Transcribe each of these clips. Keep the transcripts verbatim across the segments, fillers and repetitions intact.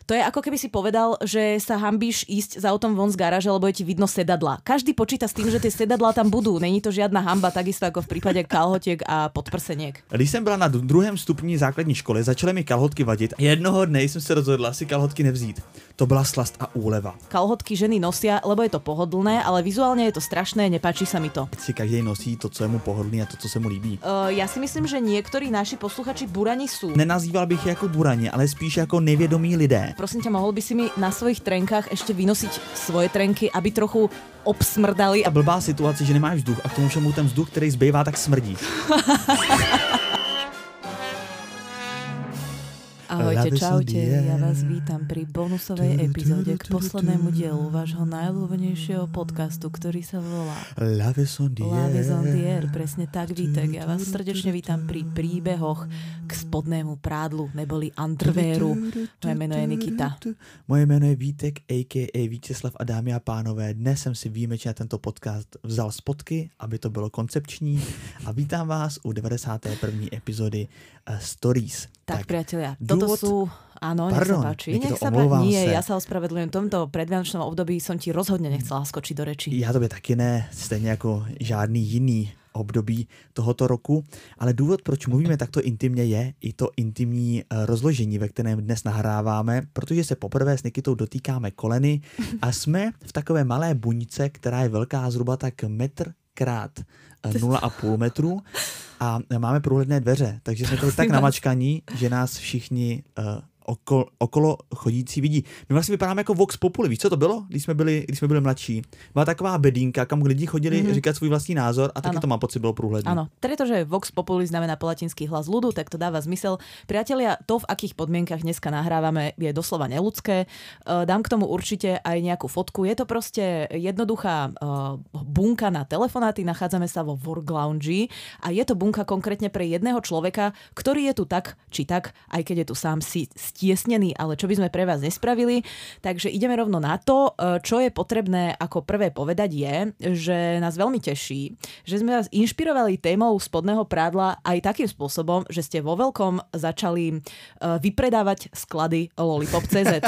To je ako keby si povedal, že sa hanbíš ísť za autom von z garáže, lebo je ti vidno sedadla. Každý počíta s tým, že tie sedadlá tam budú. Není to žiadna hanba, takisto ako v prípade kalhotiek a podprseniek. Když jsem byla na druhém stupni základní školy, začaly mi kalhotky vadit. Jednoho dne jsem se rozhodla si kalhotky nevzít. To byla slast a úleva. Kalhotky ženy nosia, lebo je to pohodlné, ale vizuálne je to strašné, nepáči sa mi to. Si každý nosí to, co je mu pohodlný a to, co se mu líbí. Uh, ja si myslím, že niektorí naši posluchači burani sú. Nenazýval bych je jako burani, ale spíš jako nevědomí lidé. Prosím ťa, mohol by si mi na svojich trenkách ešte vynosiť svoje trenky, aby trochu obsmrdali. A blbá situace, že nemáš vzduch a k tomu všemu ten vzduch, který zbývá, tak smrdí. Ahojte, čaute, ja vás vítam pri bonusovej epizóde k poslednému dielu vášho najľúbenejšieho podcastu, ktorý sa volá Love is on the air. Love is on the air, presne tak, Vítek. Ja vás srdečne vítam pri príbehoch k spodnému prádlu, neboli underwearu. Moje meno je Nikita. Moje jméno je Vítek, a ká a. Vítězslav a dámy a pánové. Dnes jsem si výjimečně tento podcast vzal z potky, aby to bylo koncepční a vítám vás u deväťdesiatej prvej epizódy uh, Stories. Tak, tak priatelia, toto sú... Áno, Pardon, nech sa páči. Nikito, Nech sa páči. Nie, sa. Ja sa ospravedlňujem. V tomto predvianočnom období som ti rozhodne nechcela skočiť do reči. Já tobě taky ne, stejně jako žádný jiný období tohoto roku, ale důvod, proč mluvíme takto intimně, je i to intimní rozložení, ve kterém dnes nahráváme, protože se poprvé s Nikitou dotýkáme koleny a jsme v takové malé buňce, která je velká zhruba tak metr krát nula a půl metru a máme průhledné dveře, takže jsme tady tak namačkaní, že nás všichni uh, okolo, okolo chodící vidí. My vlastně vypadáme jako Vox Populi, víš, co to bylo, když jsme byli, když jsme byli mladší? Byla taková bedínka, kam lidi chodili mm-hmm. říkat svůj vlastní názor a taky ano. To mám pocit, bylo průhledné. Áno, pretože Vox Populi znamená po latinsky hlas ľudu, tak to dáva zmysel. Priatelia, to, v akých podmienkach dneska nahrávame, je doslova neľudské. Dám k tomu určite aj nejakú fotku. Je to proste jednoduchá uh, bunka na telefonáty, nachádzame sa vo Work Lounge a je to bunka konkrétne pre jedného človeka, ktorý je tu tak či tak, aj keď je tu sám si stiesnený, ale čo by sme pre vás nespravili. Takže ideme rovno na to. Čo je potrebné ako prvé povedať je, že nás veľmi teší, že sme vás inšpirovali témou spodného prádla aj takým spôsobom, že ste vo veľkom začali vypredávať sklady Lollipop tečka cé zet.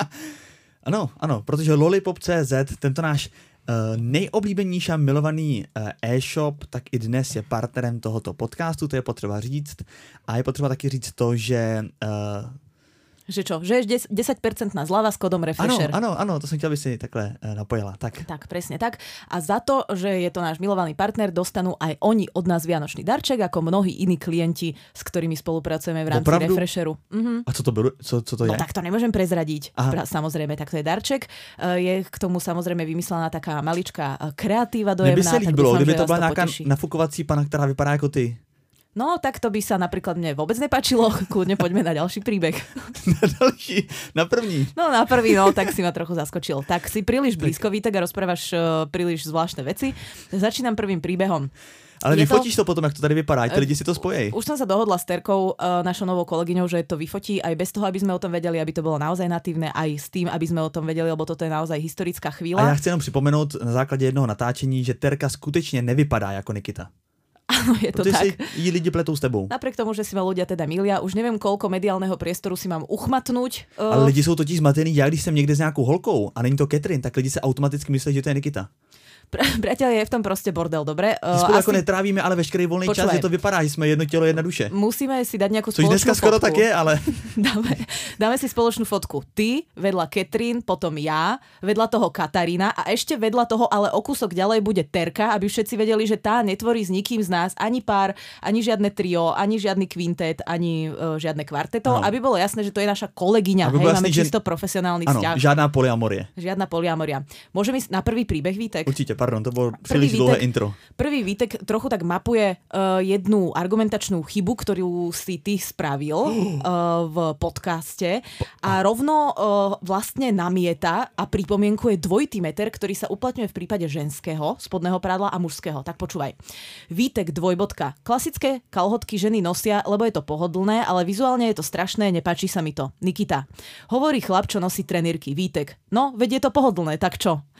Ano, ano, protože Lollipop tečka cé zet, tento náš Uh, nejoblíbenější a milovaný uh, e-shop, tak i dnes je partnerem tohoto podcastu, to je potřeba říct. A je potřeba taky říct to, že... Uh, že čo? Že je desať percent na zľava s kódom Refresher. Ano, ano, ano, to som chtěl, aby si takhle uh, napojila. Tak. tak, presne tak. A za to, že je to náš milovaný partner, dostanú aj oni od nás vianočný darček, ako mnohí iní klienti, s ktorými spolupracujeme v rámci Opravdu? Refresheru. Mhm. A co to, bylo, co, co to je? No tak to nemôžem prezradiť. Pra, samozrejme, tak to je darček. Uh, je k tomu samozrejme vymyslená taká maličká kreatíva dojemná. Mne by sa líbilo, kdyby to bola nejaká nafukovací pana, ktorá vypadá ako ty. No, tak to by sa napríklad mne vôbec nepáčilo. Kľudne poďme na ďalší príbeh. Na ďalší? Na první? No, na prvý, no, tak si ma trochu zaskočil. Tak si príliš blízko, Vítek, a rozprávaš uh, príliš zvláštne veci. Začínam prvým príbehom. Ale vyfotíš to... to potom, jak to tady vypadá, tí lidi si to spojej. Už som sa dohodla s Terkou, uh, našou novou kolegyňou, že to vyfotí aj bez toho, aby sme o tom vedeli, aby to bolo naozaj natívne, aj s tým, aby sme o tom vedeli, lebo toto je naozaj historická chvíľa. A ja chci jenom připomenout na základě jednoho natáčení, že Terka skutečne nevypadá ako Nikita. Áno, je to Protože tak. si jí lidi pletou s tebou. Napriek tomu, že si ma ľudia teda milia, už neviem, koľko mediálneho priestoru si mám uchmatnúť. Uh... Ale lidi jsou totiž zmatený, já když jsem někde s nějakou holkou a není to Catherine, tak lidi se automaticky myslí, že to je Nikita. Priatelia, je v tom proste bordel, dobre? Uh, spolu asi... ako netrávíme, ale veškerý voľný čas, že to vypadá, že sme jedno telo, jedna duše. Musíme si dať nejakú Což spoločnú dneska fotku. skoro tak je, ale... dáme, dáme si spoločnú fotku. Ty, vedľa Catherine, potom ja, vedľa toho Katarína a ešte vedľa toho, ale o kúsok ďalej bude Terka, aby všetci vedeli, že tá netvorí s nikým z nás ani pár, ani žiadne trio, ani žiadny kvintet, ani uh, žiadne kvarteto, ano. Aby bolo jasné, že to je naša kolegyňa. Hej, máme jasný, čisto že... profesionálny ano, vzťah. Žiadna polyamorie. Žiadna polyamoria. Môžeme ísť na prvý príbeh, Vítek? Určite, pardon, to bol príliš dlhé intro. Prvý Vítek trochu tak mapuje uh, jednu argumentačnú chybu, ktorú si ty spravil uh, v podcaste a rovno uh, vlastne namieta a pripomienkuje dvojitý meter, ktorý sa uplatňuje v prípade ženského spodného prádla a mužského. Tak počúvaj. Vítek dvojbodka. Klasické kalhotky ženy nosia, lebo je to pohodlné, ale vizuálne je to strašné, nepáči sa mi to. Nikita. Hovorí chlap, čo nosí trenírky. Vítek. No, veď je to pohodlné, tak čo?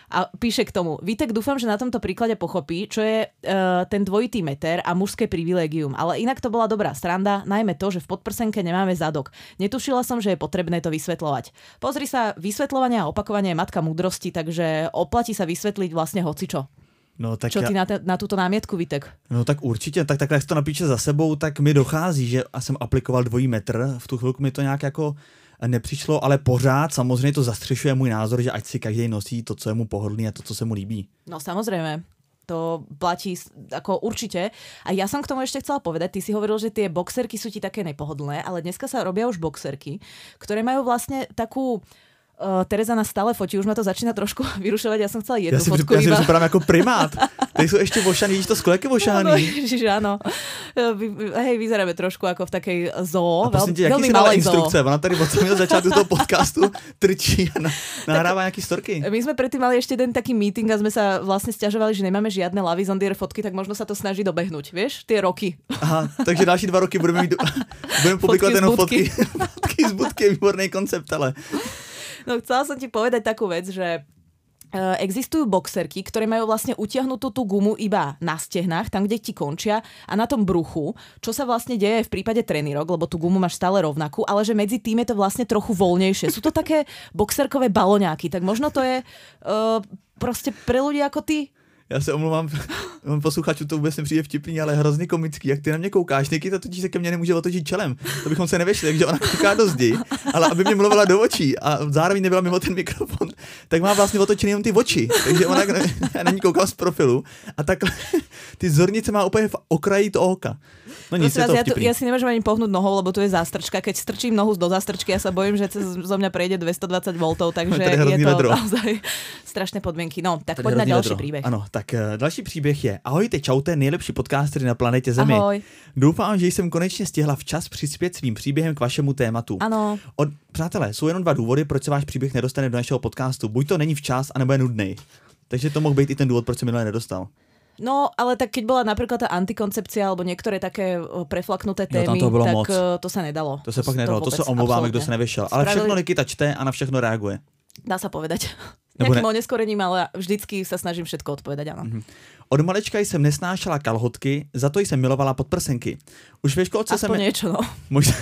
A píše k tomu, Vítek, dúfam, že na tomto príklade pochopí, čo je uh, ten dvojitý meter a mužské privilégium. Ale inak to bola dobrá sranda, najmä to, že v podprsenke nemáme zadok. Netušila som, že je potrebné to vysvetľovať. Pozri sa, vysvetľovanie a opakovanie je matka múdrosti, takže oplatí sa vysvetliť vlastne hocičo. No, tak Čo já... ty na, te, na tuto námietku, Vítek? No tak určitě, tak takhle jak to napíše za sebou, tak mi dochází, že jsem aplikoval dvojí metr, v tu chvilku mi to nějak jako nepřišlo, ale pořád samozřejmě to zastřešuje můj názor, že ať si každý nosí to, co je mu pohodlný a to, co se mu líbí. No samozrejme. To platí ako určite. A ja som k tomu ešte chcela povedať, ty si hovoril, že tie boxerky sú ti také nepohodlné, ale dneska sa robia už boxerky, ktoré majú vlastne takú... Uh, Tereza nás stále fotí, už ma to začína trošku vyrušovať, ja som chcela jednu ja si, fotku ja iba. Ja si připadám ako primát. Tady sú ešte vošaní, vidíš to sklo, aké vošaní. No, ježiš, áno. Hej, vyzeráme trošku ako v takej zoo. A prosím tě, jaký si dala instrukce? Ona tady od samého začátku toho podcastu trčí a nahrává nejaké storky. My sme predtým mali ešte jeden taký meeting a sme sa vlastne sťažovali, že nemáme žiadne La Vie en Dire fotky, tak možno sa to snaží dobehnúť, vieš, tie roky. Aha, takže další dva roky budeme mít, budeme publikovat jenom fotky, fotky z budky, výborný koncept, ale... No chcela som ti povedať takú vec, že existujú boxerky, ktoré majú vlastne utiahnutú tú gumu iba na stehnách, tam, kde ti končia a na tom bruchu, čo sa vlastne deje v prípade trenírok, lebo tú gumu máš stále rovnakú, ale že medzi tým je to vlastne trochu voľnejšie. Sú to také boxerkové baloňáky, tak možno to je uh, proste pre ľudí ako ty. Já se omlouvám, posluchačů to vůbec nepřijde vtipný, ale hrozně komický. Jak ty na mě koukáš, Nikita totiž se ke mně nemůže otočit čelem. To bychom se nevešli, takže ona kouká do zdi, ale aby mě mluvila do očí a zároveň nebyla mimo ten mikrofon, tak má vlastně otočený jenom ty oči. Takže ona, já na ní koukám z profilu a takhle ty zornice má úplně v okraji toho oka. No nic, je to ja, tu, ja si nemôžem ani pohnúť nohou, lebo tu je zástrčka. Keď strčím nohu do zástrčky, ja sa bojím, že cez, zo mňa prejde dvestodvadsať voltov, takže je, je to vedro. Naozaj strašné podmienky. No, tak poď na ďalší vedro. Príbeh. Ano, tak uh, další příběh je ahojte, čaute, nejlepší podcastery na planetě Zemi. Ahoj. Doufám, že jsem konečně stihla včas přispět svým příběhem k vašemu tématu. Ano. Od, přátelé, jsou jenom dva důvody, proč se váš příběh nedostane do našeho podcastu. Buď to není včas, anebo je nudnej. Takže to mohl být i ten důvod, proč se minulé nedostal. No, ale tak keď bola napríklad tá antikoncepcia alebo niektoré také preflaknuté témy, jo, to tak moc. to sa nedalo. To sa pak nedalo, to, to sa omlouváme, kdo sa nevyšel. Ale Spravili... všechno Nikita čte a na všechno reaguje. Dá sa povedať. Nejakým ne... oneskorením, ale vždycky sa snažím všetko odpovedať, áno. Mm-hmm. Od malička jsem nesnášela kalhotky, za to jsem milovala podprsenky. Už ve školce Aspoň jsem... niečo, no. Možná...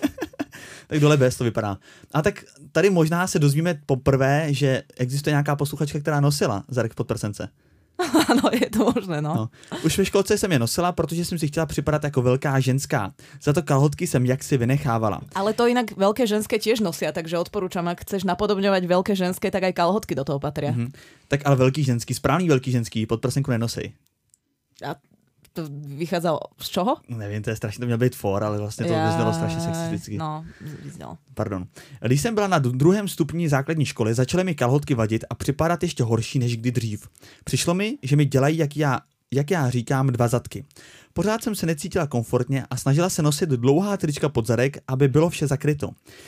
tak dole bez to vypadá. A tak tady možná se dozvíme poprvé, že existuje nějaká posluchačka, která nosila zadek v podprsence. Ano, je to možné, no. no. Už ve školce jsem je nosila, protože jsem si chtěla připadat jako velká ženská. Za to kalhotky jsem jaksi vynechávala. Ale to inak veľké ženské tiež nosia, takže odporúčam, ak chceš napodobňovať veľké ženské, tak aj kalhotky do toho patria. Mm-hmm. Tak ale veľký ženský, správný veľký ženský podprsenku nenosej. A to vychádza z čoho? Nevím, to je strašně, to měl být for, ale vlastně to ja... vyznalo strašně sexisticky. No, vyznalo. Pardon. Když jsem byla na druhém stupni základní školy, začaly mi kalhotky vadit a připadat ještě horší než kdy dřív. Přišlo mi, že mi dělají, jak já, jak já říkám, dva zadky. Pořád jsem se necítila komfortně a snažila se nosit dlouhá trička pod zadek, aby bylo vše zakryto.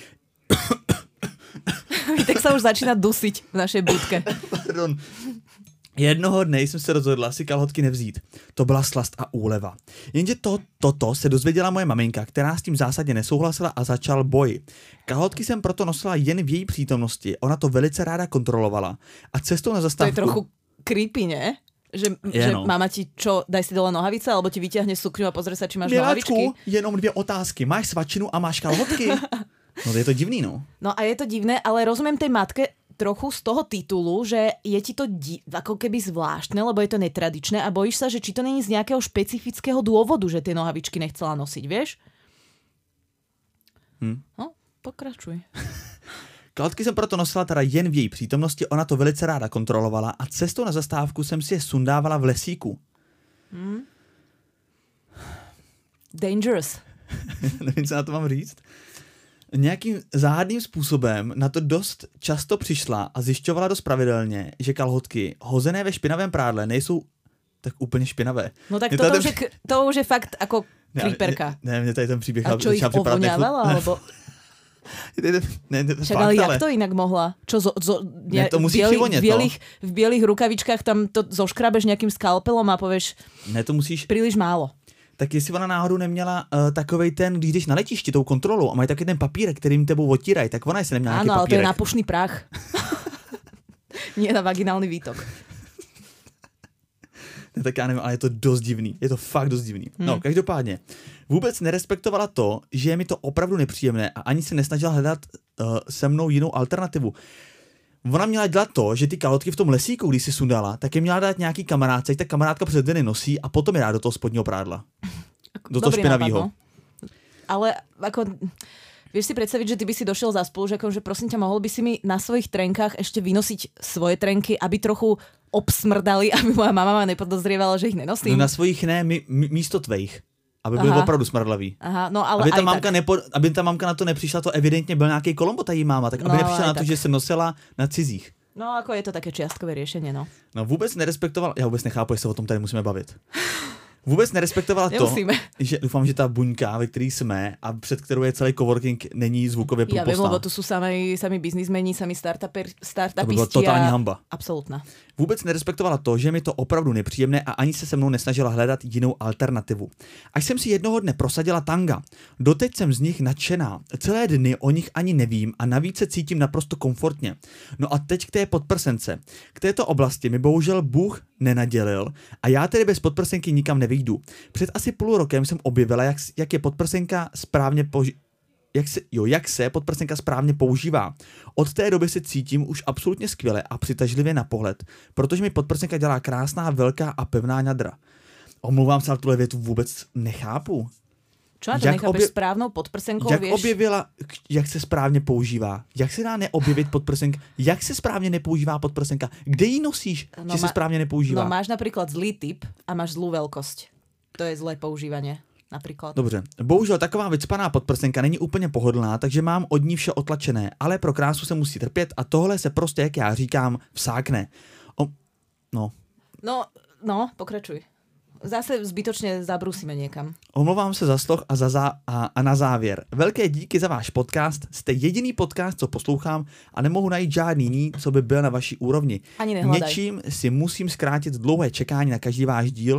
Tak sa už začína dusiť v našej budke. Pardon. Jednoho dne jsem se rozhodla si kalhotky nevzít. To byla slast a úleva. Jenže to, toto se dozvěděla moje maminka, která s tím zásadně nesouhlasila a začal boj. Kalhotky jsem proto nosila jen v její přítomnosti. Ona to velice ráda kontrolovala. A cestou na zastávku... To je trochu creepy, ne? Že, že no. Mama ti čo, daj si dole nohavice, alebo ti vyťahne sukňu a pozrie sa, či máš Miláčku, nohavičky? Jenom dvě otázky. Máš svačinu a máš kalhotky? No to je to divný, no. No a je to divné, ale rozumiem tej matke trochu z toho titulu, že je ti to di- ako keby zvláštne, lebo je to netradičné a bojíš sa, že či to není z nejakého špecifického dôvodu, že tie nohavičky nechcela nosiť, vieš? Hm. No, pokračuj. Kalhotky jsem proto nosila teda jen v její přítomnosti, ona to velice ráda kontrolovala a cestou na zastávku jsem si je sundávala v lesíku. Hmm. Dangerous. Nevím, co na to mám říct. Nějakým záhadným způsobem na to dost často přišla a zjišťovala dost pravidelně, že kalhotky hozené ve špinavém prádle nejsou tak úplně špinavé. No tak to, to, už je, to už je fakt jako creeperka. Ne, ne, mě tady ten příběh... A čo ich povoňávala, alebo... Ne, ne, Však ale jak to inak mohla? Čo zo, zo, ne, to musíš bieli, v, bielých, v bielých rukavičkách tam to zoškrabeš nejakým skalpelom a povieš ne, to musíš... príliš málo. Tak jestli ona náhodou neměla uh, takovej ten, když jdeš na letišti tou kontrolou a mají taky ten papírek, kterým tebou otírají, tak ona jestli neměla ano, nějaký papírek. Áno, ale to je nápušný prach. Nie na vaginální výtok. Ne, tak já nevím, ale je to dost divný. Je to fakt dost divný. Hmm. No, každopádně. Vůbec nerespektovala to, že je mi to opravdu nepříjemné a ani se nesnažila hledat uh, se mnou jinou alternativu. Ona měla dělat to, že ty kalhotky v tom lesíku, když si sundala, tak je měla dát nějaký kamarádce, tak kamarádka před den nosí a potom je dá do toho spodního prádla. Do toho špinavýho. Ale ako... Vieš si predstaviť, že ty by si došiel za spolužiakom, že prosím ťa, mohol by si mi na svojich trenkách ešte vynosiť svoje trenky, aby trochu obsmrdali, aby moja mama ma nepodozrievala, že ich nenosím? No na svojich ne, mi, mi, místo tvejch. Aby byli opravdu smrdlaví. Aha, no ale aby ta, aj mamka tak. nepo, aby ta mamka na to nepřišla, to evidentně byl nějaký Kolombo, ta jí máma, tak aby no, nepřišla na to, tak. že se nosila na cizích. No ako je to také čiastkové riešenie, no. No vůbec nerespektoval, já vůbec nechápu, jestli se o tom tady musíme bavit. Vůbec nerespektovala to, že doufám, že ta buňka, ve který jsme a před kterou je celý coworking, není zvukově průpostná. Ja viem, lebo tu sú sami, sami biznismeni, sami startupisti. To by byla totální hamba. Absolutná. Vůbec nerespektovala to, že mi to opravdu nepříjemné a ani se se mnou nesnažila hledat jinou alternativu. Až jsem si jednoho dne prosadila tanga. Doteď jsem z nich nadšená. Celé dny o nich ani nevím a navíc se cítím naprosto komfortně. No a teď k té podprsence. K této oblasti mi bohužel Bůh nenadělil a já tedy bez podprsenky nikam nevyjdu. Před asi půl rokem jsem objevila, jak, jak je podprsenka správně použi- jak se, jo, jak se podprsenka správně používá. Od té doby se cítím už absolutně skvěle a přitažlivě na pohled, protože mi podprsenka dělá krásná, velká a pevná ňadra. Omlouvám se, ale tuhle větu vůbec nechápu. Čo na to nechápeš obje... správnou podprsenkou, jak vieš? objevila, jak se správně používá? Jak se dá neobjevit podprsenka? Jak se správně nepoužívá podprsenka? Kde ji nosíš, no, že ma... se správně nepoužívá? No máš napríklad zlý typ a máš zlú veľkosť. To je zlé používanie. Například. Dobře. Bohužel taková vycpaná podprsenka není úplně pohodlná, takže mám od ní vše otlačené, ale pro krásu se musí trpět a tohle se prostě, jak já říkám, vsákne. O... No. No, no, pokračuj. Zase zbytočně zabrusíme někam. Omlouvám se za sloh a, za zá... a, a na závěr. Velké díky za váš podcast. Jste jediný podcast, co poslouchám a nemohu najít žádný jiný, co by byl na vaší úrovni. Ani nehledaj. Něčím si musím zkrátit dlouhé čekání na každý váš díl.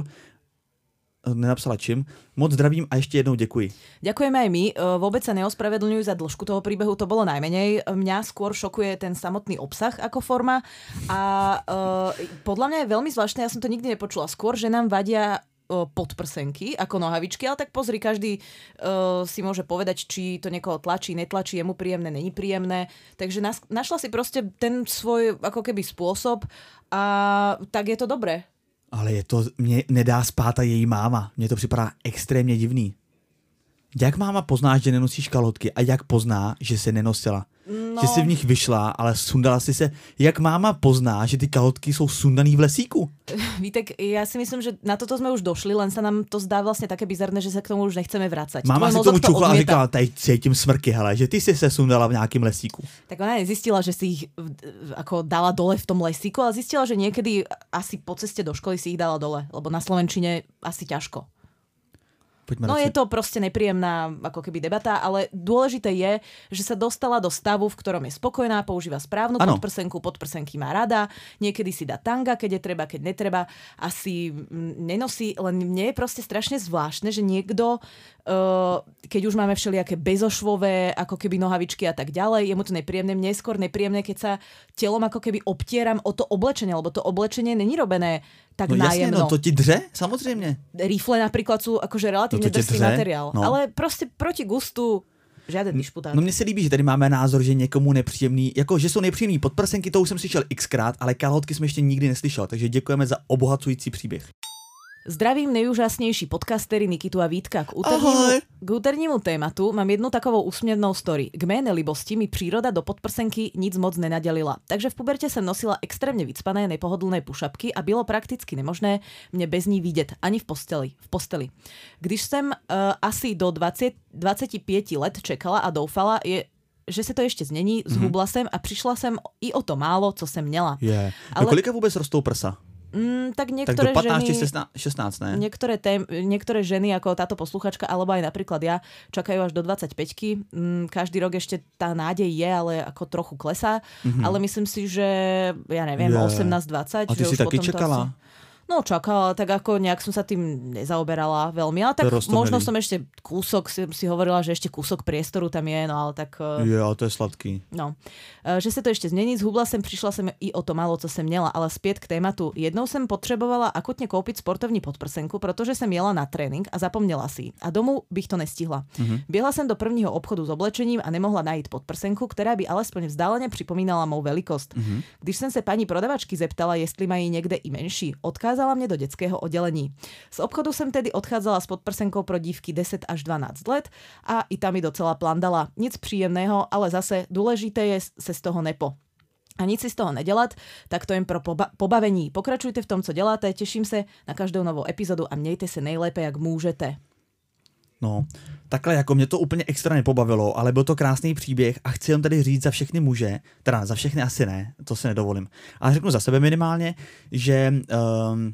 Nenapsala čím. Moc zdravím a ještě jednou děkuji. Ďakujeme aj my. Vôbec sa neospravedlňujú za dĺžku toho príbehu, to bolo najmenej. Mňa skôr šokuje ten samotný obsah ako forma a uh, podľa mňa je veľmi zvláštne, ja som to nikdy nepočula, skôr, že nám vadia uh, podprsenky ako nohavičky, ale tak pozri, každý uh, si môže povedať, či to niekoho tlačí, netlačí, je mu príjemné, není príjemné. Takže nas, našla si proste ten svoj ako keby spôsob a tak je to dobré. Ale je to, mě nedá spát a její máma. Mně to připadá extrémně divný. Jak máma pozná, že nenosíš kalhotky a jak pozná, že se nenosila? No. Že jsi v nich vyšla, ale sundala si se. Jak máma pozná, že ty kalhotky jsou sundaný v lesíku? Vítek, ja si myslím, že na toto sme už došli, len sa nám to zdá vlastne také bizarné, že sa k tomu už nechceme vracať. Máma si tomu čuchla a říkala, tady cítím smrky, hele, že ty si se sundala v nějakém lesíku. Tak ona nezistila, že si ich ako dala dole v tom lesíku, ale zistila, že niekedy asi po ceste do školy si ich dala dole, lebo na slovenčine asi ťažko. Poďme no radši. Je to proste nepríjemná ako keby debata, ale dôležité je, že sa dostala do stavu, v ktorom je spokojná, používa správnu ano. podprsenku, podprsenky má rada, niekedy si dá tanga, keď je treba, keď netreba, asi nenosí, len mne je proste strašne zvláštne, že niekto, uh, keď už máme všelijaké bezošvové, ako keby nohavičky a tak ďalej, je mu to nepríjemné, mne je skôr nepríjemné, keď sa telom ako keby obtieram o to oblečenie, lebo to oblečenie není robené tak no nájemno. jasne, no to ti dře, samozřejmě. Rifle napríklad sú akože relatívne no drsný materiál, no. ale prostě proti gustu žádný disputát. No mně se líbí, že tady máme názor, že někomu nepříjemný, jako že jsou nepříjemný podprsenky, to už jsem slyšel xkrát, ale kalhotky jsme ještě nikdy neslyšel, takže děkujeme za obohacující příběh. Zdravím nejúžasnejší podcastery Nikitu a Vítka. K úternímu, k úternímu tématu mám jednu takovou úsměvnou story. K mé nelibosti mi příroda do podprsenky nic moc nenadělila. Takže v puberte jsem nosila extrémně vycpané nepohodlné pušapky a bylo prakticky nemožné mě bez ní vidět ani v posteli. V posteli. Když jsem uh, asi do dvacet, dvacet pět let čekala a doufala, je že se to ještě změní, zhubla mm-hmm. jsem a přišla jsem i o to málo, co jsem měla. Yeah. Ale... No kolika vůbec rostou prsa? Mm, tak niektoré tak do pätnásť, ženy, šestnásť, ne? Niektoré, tém, niektoré ženy, ako táto posluchačka, alebo aj napríklad ja, čakajú až do dvadsaťpäťky. Mm, každý rok ešte tá nádej je, ale ako trochu klesá. Mm-hmm. Ale myslím si, že ja neviem, yeah. osemnásť dvadsať. A ty že si už taky potom čekala? Asi... No čakala, tak ako nejak som sa tým nezaoberala veľmi, ale tak možno som ešte kúsok, si, si hovorila, že ešte kúsok priestoru tam je, no ale tak... Je, ale to je sladký. No, že se to ještě změní, zhubla jsem, přišla jsem i o to málo, co jsem měla, ale zpět k tématu. Jednou jsem potřebovala akutně koupit sportovní podprsenku, protože jsem jela na trénink a zapomněla si a domů bych to nestihla. Mm-hmm. Běhla jsem do prvního obchodu s oblečením a nemohla najít podprsenku, která by alespoň vzdáleně připomínala mou velikost. Mm-hmm. Když jsem se paní prodavačky zeptala, jestli mají někde i menší, odkázala mě do dětského oddělení. Z obchodu jsem tedy odchádzala s podprsenkou pro dívky deset až dvanásť let a i tam mi docela plandala. Nic příjemného, ale zase důležité je se z toho nepo. A nic si z toho nedělat, tak to jen pro poba- pobavení. Pokračujte v tom, co děláte, těším se na každou novou epizodu a mějte se nejlépe, jak můžete. No, takhle jako mě to úplně extra nepobavilo, ale byl to krásný příběh a chci jen tady říct za všechny muže, teda za všechny asi ne, to si nedovolím, ale řeknu za sebe minimálně, že... Um,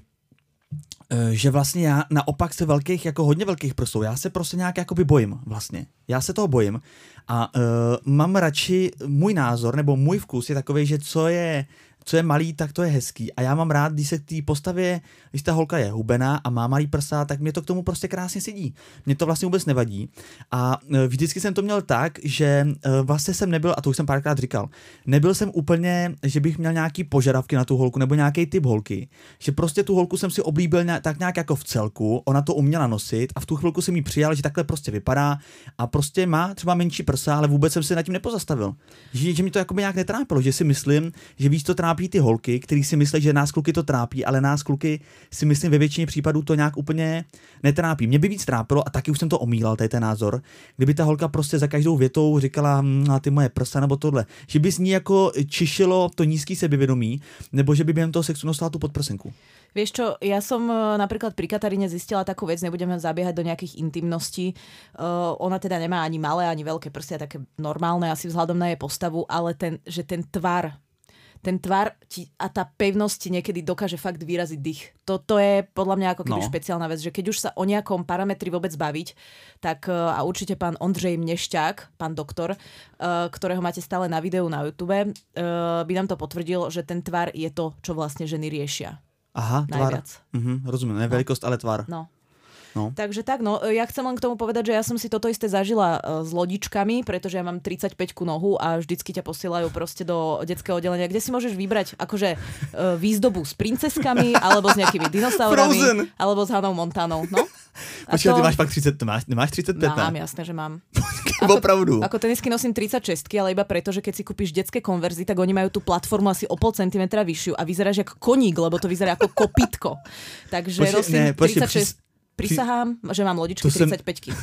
že vlastně já naopak se velkých, jako hodně velkých prsou, já se prostě nějak jakoby bojím vlastně. Já se toho bojím a uh, mám radši, můj názor nebo můj vkus je takový, že co je, co je malý, tak to je hezký. A já mám rád, když se k té postavě, když ta holka je hubená a má malý prsa, tak mě to k tomu prostě krásně sedí. Mě to vlastně vůbec nevadí. A vždycky jsem to měl tak, že vlastně jsem nebyl, a to už jsem párkrát říkal, nebyl jsem úplně, že bych měl nějaký požadavky na tu holku nebo nějaký typ holky. Že prostě tu holku jsem si oblíbil nějak, tak nějak jako v celku, ona to uměla nosit a v tu chvilku jsem jí přijal, že takhle prostě vypadá a prostě má třeba menší prsa, ale vůbec jsem se nad tím nepozastavil. Že, že mi to jako nějak netrápilo, že si myslím, že víc to trápí ty holky, který si myslí, že nás kluky to trápí, ale nás kluky si myslím ve většině případů to nějak úplně netrápí. Mě by víc trápilo, a taky už jsem to omílal, tady ten názor, kdyby ta holka prostě za každou větou říkala, hm, ty moje prsa nebo tohle, že by z ní jako čišilo to nízký sebevědomí, nebo že by během toho sexu nosila tu podprsenku. Vieš čo, ja som napríklad pri Kataríne zistila takú vec, nebudeme zabiehať do nejakých intimností. Uh, ona teda nemá ani malé, ani veľké prsty, také normálne asi vzhľadom na jej postavu, ale ten, že ten tvar, ten tvar ti, a tá pevnosť ti niekedy dokáže fakt vyraziť dých. Toto je podľa mňa ako keby no. špeciálna vec, že keď už sa o nejakom parametri vôbec baviť, tak uh, a určite pán Ondřej Mnešťák, pán doktor, uh, ktorého máte stále na videu na YouTube, uh, by nám to potvrdil, že ten tvar je to, čo vlastne ženy riešia. Aha, tvar. Mhm, rozumiem, ne veľkosť, no. ale tvar. No. No. Takže tak, no, ja chcem len k tomu povedať, že ja som si toto isté zažila uh, s lodičkami, pretože ja mám tridsaťpäťku nohu a vždycky ťa posielajú proste do detského oddelenia, kde si môžeš vybrať akože uh, výzdobu s princeskami, alebo s nejakými dinosaurami, Frozen. Alebo s Hannah Montanou, no. Počkaj, to... ty máš pak tridsať, máš, máš tridsaťpäť? Mám, jasné, že mám. Ako, opravdu. Ako tenisky nosím tridsaťšesť, ale iba preto, že keď si kúpiš detské konverzy, tak oni majú tú platformu asi o pol centimetra vyššiu a vyzeráš ako koník, lebo to vyzerá ako kopytko. Takže počkej, nosím ne, počkej, tridsaťšesť. Prisahám, že mám lodičky tridsaťpäťky.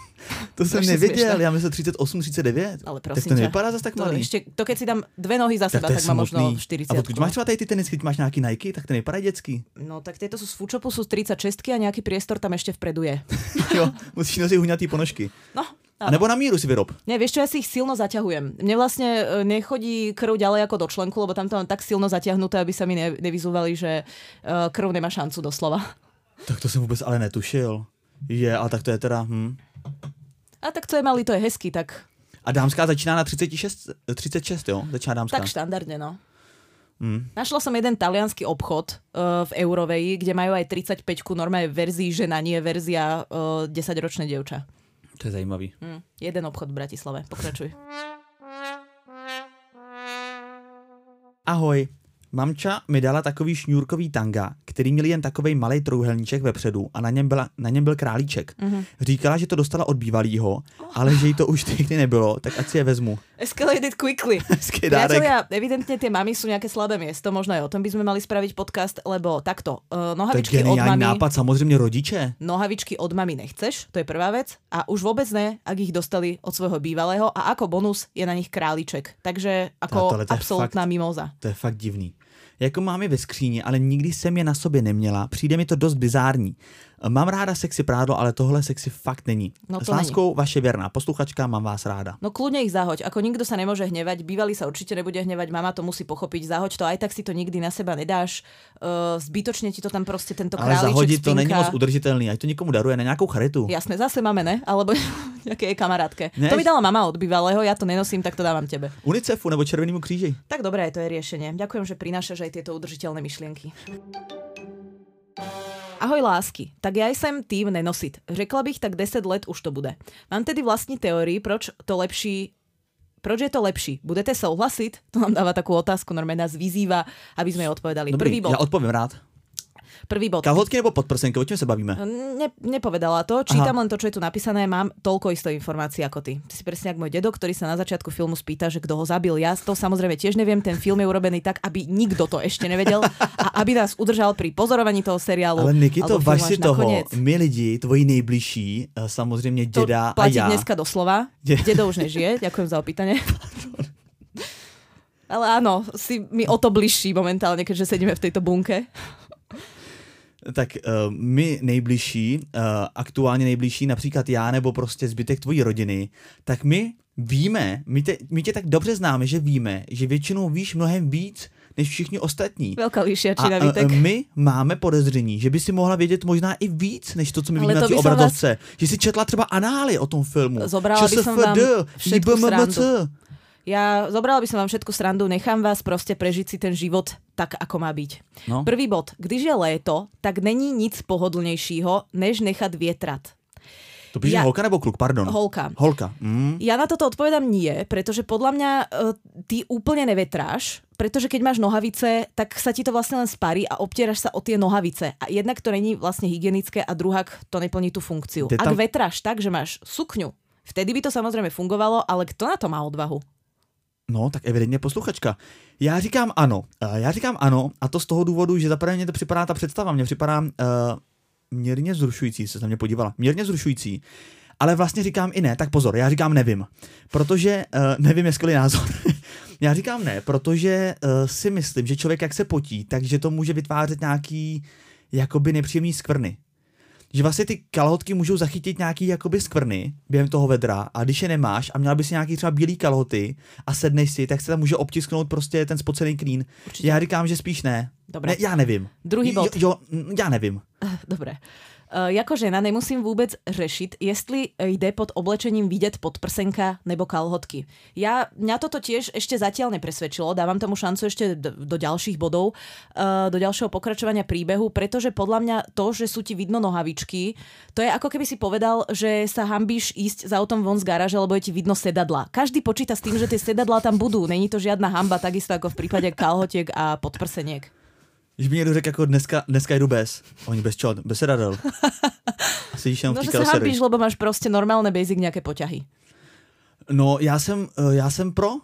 To jsem nevěděl, já myslím třicet osm, třicet devět. Ale prosím tak to nevypadá zase tak malý. To, to keď si dám dve nohy za seba, tak, tak mám možno štyridsať. A odkud máš třeba tady ty tenisky, máš nějaký Nike, tak to nevypadá dětský. No tak tieto sú z Foodshopu, sú z tridsaťšesť a nejaký priestor tam ešte vpredu je. Jo, musíš nosiť huňatý ponožky. No. A nebo na míru si vyrob. Nie, vieš čo, ja si ich silno zaťahujem. Mne vlastne nechodí krv ďalej ako do členku, lebo tam to mám tak silno zaťahnuté, aby sa mi ne, nevyzúvali, že krv nemá šancu doslova. Tak to jsem vůbec ale netušil. Je, a tak to je teda... Hm. A tak co je malý, to je hezký, tak... A dámská začíná na třicet šest, třicet šest, jo? Začíná dámská. Tak štandardne, no. Hmm. Našla som jeden taliansky obchod uh, v Euroveji, kde majú aj tridsaťpäťku, normálne verzii žena, nie verzia uh, desaťročné dievča. To je zajímavý. Hmm. Jeden obchod v Bratislave. Pokračuj. Ahoj. Mamča mi dala takový šňůrkový tanga, který měl jen takovej malej trojúhelníček vepředu a na něm, byla, na něm byl králíček. Mm-hmm. Říkala, že to dostala od bývalýho, oh. ale že jí to už někdy nebylo, tak ať si je vezmu. Escalated quickly. Priatelia, evidentne tie mami sú nejaké slabé miesto, možno aj o tom by sme mali spraviť podcast, lebo takto, uh, nohavičky od mami... nápad, samozrejme rodiče. Nohavičky od mami nechceš, to je prvá vec, a už vôbec ne, ak ich dostali od svojho bývalého a ako bonus je na nich králíček. Takže ako absolútna mimoza. To je fakt divný. Jako mám je ve skříni, ale nikdy jsem je na sobě neměla. Přijde mi to dost bizární. Mám ráda sexy prádlo, ale tohle sexy fakt není. No s láskou, vaše věrná posluchačka, mám vás ráda. No kľudne ich zahoď. Ako nikto sa nemôže hnevať, bývalý sa určite nebude hnevať, mama to musí pochopiť, zahoď to, aj tak si to nikdy na seba nedáš. Uh, zbytočne ti to tam proste tento králiček spinka. Ale zahodiť to není moc udržiteľný, aj to nikomu daruje na nejakú charitu. Jasné, zase máme, ne? Alebo nejaké kamarátke. Ne? To mi dala mama od bývalého, ja to nenosím, tak to dávam tebe. UNICEFu nebo Červenému kríži. Tak dobré, to je riešenie. Ďakujem, že prinášaš aj tieto udržiteľné myšlienky. Ahoj lásky, tak ja jsem tým nenosit. Řekla bych, tak deset let už to bude. Mám tedy vlastní teórii, proč to lepší Proč je to lepší? Budete souhlasit? To nám dáva takú otázku, normálne nás vyzýva, aby sme jej odpovedali. Dobrý, Prvý bod. Ja odpoviem rád. Prvý bod. Kalhotky nebo podprsenky, o čem sa bavíme? Ne, nepovedala to, čítam Aha. len to, čo je tu napísané, mám toľko isto informácií ako ty. Ty si presne ako môj dedo, ktorý sa na začiatku filmu spýta, že kto ho zabil. Ja to samozrejme tiež neviem, ten film je urobený tak, aby nikto to ešte nevedel a aby nás udržal pri pozorovaní toho seriálu. Ale Nikito, važ si toho, nakoniec. my lidi, tvoji nejbližší, samozřejmě děda to a platí já. dneska doslova. Dedo už nežije, ďakujem za opýtanie. Ale áno, si mi o to bližší momentálne, keďže sedíme v tejto bunke. Tak uh, my nejbližší, uh, aktuálně nejbližší, například já nebo prostě zbytek tvojí rodiny, tak my víme, my, te, my tě tak dobře známe, že víme, že většinou víš mnohem víc než všichni ostatní. Velká lišiačina, a Vítek. uh, my máme podezření, že by si mohla vědět možná i víc, než to, co my Ale vidíme na to té by som obrazovce. Vás... Že si četla třeba anály o tom filmu. Zobrala by som vám všetku srandu. Ja zobrala by som vám všetku srandu, nechám vás proste prežiť si ten život tak, ako má byť. No. Prvý bod. Když je léto, tak není nic pohodlnejšího, než nechat vietrat. To píše ja... holka nebo kluk, pardon? Holka. Holka. Mm. Ja na toto odpovedám nie, pretože podľa mňa uh, ty úplne nevetráš, pretože keď máš nohavice, tak sa ti to vlastne len sparí a obtieraš sa o tie nohavice. A jednak to není vlastne hygienické a druhak to neplní tú funkciu. Tam... Ak vetráš tak, že máš sukňu, vtedy by to samozrejme fungovalo, ale kto na to má odvahu? No, tak evidentně posluchačka. Já říkám ano. Já říkám ano a to z toho důvodu, že zaprvé mě to připadá ta představa. Mně připadá uh, mírně zrušující, se na mě podívala. Mírně zrušující. Ale vlastně říkám i ne. Tak pozor, já říkám nevím. Protože uh, nevím, je skvělý názor. Já říkám ne, protože uh, si myslím, že člověk jak se potí, takže to může vytvářet nějaký jakoby nepříjemný skvrny. Že vlastně ty kalhotky můžou zachytit nějaký jakoby skvrny během toho vedra a když je nemáš a měla by si nějaký třeba bílý kalhoty a sedneš si, tak se tam může obtisknout prostě ten spocený klín. Určitě. Já říkám, že spíš ne. Dobre. Ne, já nevím. Druhý bod. Jo, jo, já nevím. Dobre. Uh, jako žena nemusím vůbec řešit, jestli jde pod oblečením vidět podprsenka nebo kalhotky. Ja, mňa toto tiež ešte zatiaľ nepresvedčilo, dávam tomu šancu ešte do, do ďalších bodov, uh, do ďalšieho pokračovania príbehu, pretože podľa mňa to, že sú ti vidno nohavičky, to je ako keby si povedal, že sa hanbíš ísť za autom von z garáže, lebo je ti vidno sedadla. Každý počíta s tým, že tie sedadlá tam budú, není to žiadna hanba, takisto ako v prípade kalhotiek a podprseniek. Když mi někdo řekl, jako dneska, dneska jdu bez. Oni bez čo? Bez sedadel. A sedíš jenom no, v té že sa karoserii. hanbíš, lebo máš prostě normálne basic nejaké poťahy. No, já jsem, já jsem pro.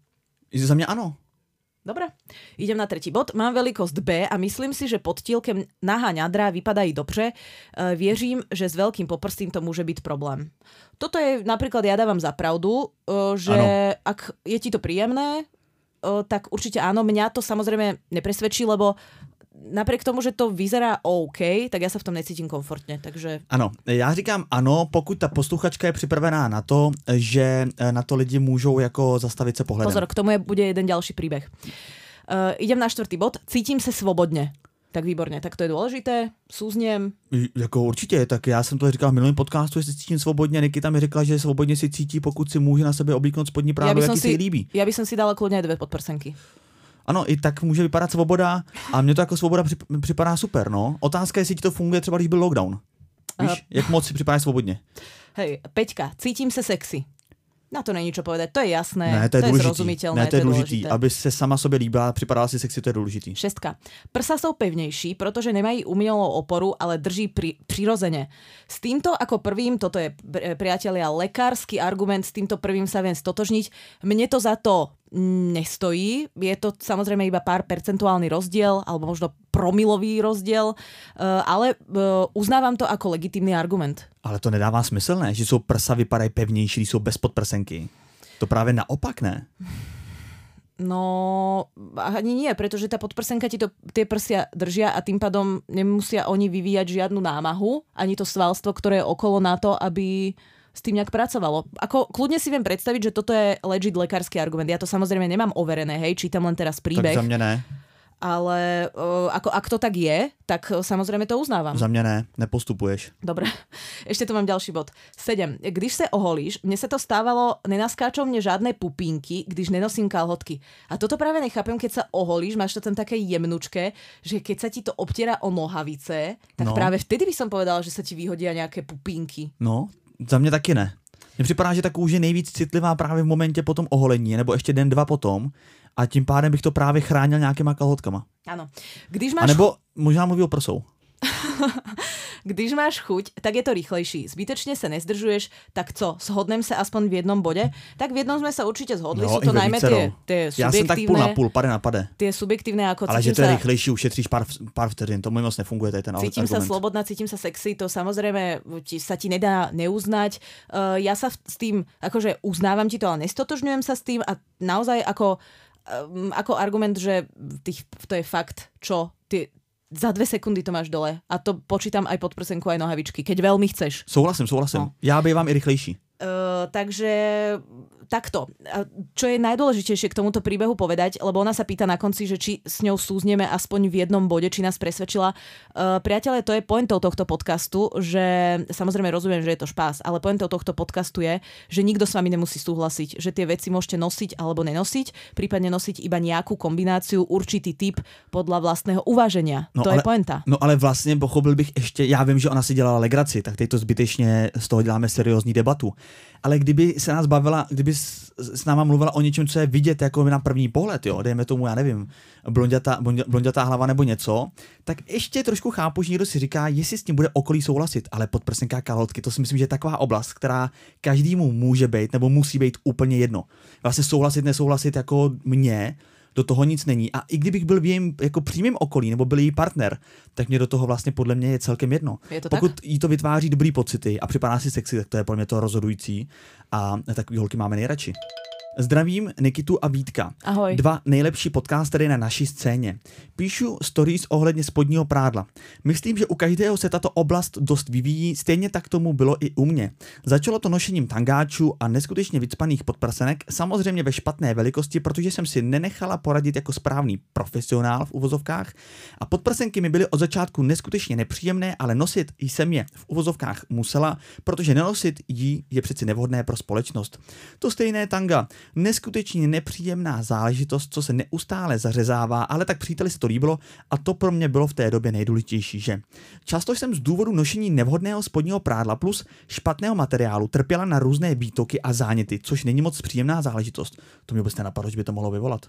Za mě ano. Dobre, idem na tretí bod. Mám veľkosť B a myslím si, že pod tílkem nahá ňadra vypadají dobře. E, věřím, že s veľkým poprstím to môže byť problém. Toto je napríklad, ja dávam za pravdu, e, že ano. Ak je ti to príjemné, e, tak určite áno. Mňa to samozrejme nepresvedčí, lebo napriek tomu, že to vyzerá OK, tak ja sa v tom necítím komfortně, takže... Ano, já říkám ano, pokud ta posluchačka je připravená na to, že na to lidi můžou jako zastavit se pohledem. Pozor, k tomu je, bude jeden ďalší príbeh. Uh, idem na štvrtý bod. Cítím se svobodně. Tak výborně, tak to je důležité. Súzniem. Jako určitě, tak já jsem to říkal v minulém podcastu, že se cítím svobodně. Nikita mi řekla, že svobodně si cítí, pokud si může na sebe oblíknout spodní prádlo, jaký si líbí. Já bych si dala kludně dvě podprsenky. Ano, i tak může vypadat svoboda a mně to jako svoboda připadá super, no. Otázka je, jestli ti to funguje třeba, když byl lockdown. Víš, uh, jak moc si připadáš svobodně. Hej, Peťka, cítím se sexy. Na to není čo povedať, to je jasné, ne, to je, to je zrozumiteľné. Ne, to je, to je důležitý, dôležité. Aby se sama sobě líbila, připadala si sexy, to je důležitý. Šestka. Prsa jsou pevnější, protože nemají umělou oporu, ale drží pri, přirozeně. S týmto ako prvým, toto je, priatelia, lekársky argument, s týmto prvým sa viem stotožniť. Mne to za to nestojí. Je to samozrejme iba pár percentuálny rozdiel, alebo možno promilový rozdiel, ale uznávam to ako legitímny argument. Ale to nedává smysl, ne? Že jsou prsa vypadají pevnější, když jsou bez podprsenky. To právě naopak, ne? No, ani nie, pretože tá podprsenka ti to, tie prsia držia a tým pádom nemusia oni vyvíjať žiadnu námahu, ani to svalstvo, ktoré je okolo na to, aby s tým nejak pracovalo. Ako kľudne si viem predstaviť, že toto je legit lekársky argument. Ja to samozrejme nemám overené, hej, čítam len teraz príbeh. Tak za mňa ne. Ale uh, ako, ak to tak je, tak uh, samozrejme to uznávam. Za mňa ne, nepostupuješ. Dobre, ešte tu mám ďalší bod. sedem. Když se oholíš, mne sa to stávalo, nenaskáčou mne žádné pupínky, když nenosím kalhotky. A toto práve nechápem, keď sa oholíš, máš to tam také jemnučké, že keď sa ti to obtiera o nohavice, tak no. práve vtedy by som povedala, že sa ti vyhodia nejaké pupínky. No, za mě taky ne. Mně připadá, že ta kůže je nejvíc citlivá právě v momentě po tom oholení, nebo ještě den, dva potom. A tím pádem bych to právě chránil nějakýma kalhotkama. Ano. Když máš... A nebo možná mluví o prsou. Když máš chuť, tak je to rýchlejší. Zbytečne sa nezdržuješ, tak co, shodnem sa aspoň v jednom bode? Tak v jednom sme sa určite zhodli, no, sú to najmä tie, tie subjektívne... Já jsem tak půl na půl, pade na pade. Tie subjektívne, ako ale že to je sa... rýchlejší, ušetříš pár, pár vteřin, to moc nefunguje tady ten cítim argument. Cítim sa slobodná, cítim sa sexy, to samozrejme ti, sa ti nedá neuznať. Uh, ja sa s tým, akože uznávam ti to, ale nestotožňujem sa s tým a naozaj ako, um, ako argument, že tých, to je fakt, čo ty... Za dve sekundy to máš dole. A to počítam aj podprsenku, aj nohavičky, keď veľmi chceš. Souhlasím, souhlasím. No. Já bývám i rychlejší. Uh, takže takto. Čo je najdôležitejšie k tomuto príbehu povedať, lebo ona sa pýta na konci, že či s ňou súzneme aspoň v jednom bode, či nás presvedčila. Uh, priatelé, to je pointou tohto podcastu, že samozrejme rozumiem, že je to špás, ale pointou tohto podcastu je, že nikto s vami nemusí súhlasiť, že tie veci môžete nosiť alebo nenosiť, prípadne nosiť iba nejakú kombináciu, určitý typ podľa vlastného uváženia. No, to ale, je pointa. No ale vlastně pochopil bych ještě, já vím, že ona si dělala legraci, tak teď to zbytečně z toho děláme seriózní debatu. Ale kdyby se nás bavila, kdyby s, s náma mluvila o něčem, co je vidět jako na první pohled, jo, dejme tomu, já nevím, blondětá, blondětá hlava nebo něco, tak ještě trošku chápu, že někdo si říká, jestli s tím bude okolí souhlasit, ale podprsenka, kalhotky, to si myslím, že je taková oblast, která každému může být nebo musí být úplně jedno. Vlastně souhlasit, nesouhlasit jako mě, do toho nic není. A i kdybych byl v jejím jako přímém okolí nebo byl její partner, tak mě do toho vlastně podle mě je celkem jedno. Je to Pokud tak? jí to vytváří dobrý pocity a připadá si sexy, tak to je podle mě to rozhodující a takový holky máme nejradši. Zdravím Nikitu a Vítka. Ahoj. Dva nejlepší podcastery na naší scéně. Píšu stories ohledně spodního prádla. Myslím, že u každého se tato oblast dost vyvíjí, stejně tak tomu bylo i u mě. Začalo to nošením tangáčů a neskutečně vycpaných podprsenek, samozřejmě ve špatné velikosti, protože jsem si nenechala poradit jako správný profesionál v uvozovkách a podprsenky mi byly od začátku neskutečně nepříjemné, ale nosit jsem je v uvozovkách musela, protože nenosit jí je přeci nevhodné pro společnost. To stejné tanga. Neskutečně nepříjemná záležitost, co se neustále zařezává, ale tak příteli se to líbilo a to pro mě bylo v té době nejdůležitější, že? Často jsem z důvodu nošení nevhodného spodního prádla plus špatného materiálu trpěla na různé výtoky a záněty, což není moc příjemná záležitost. To mi vůbec nenapadlo, že by to mohlo vyvolat.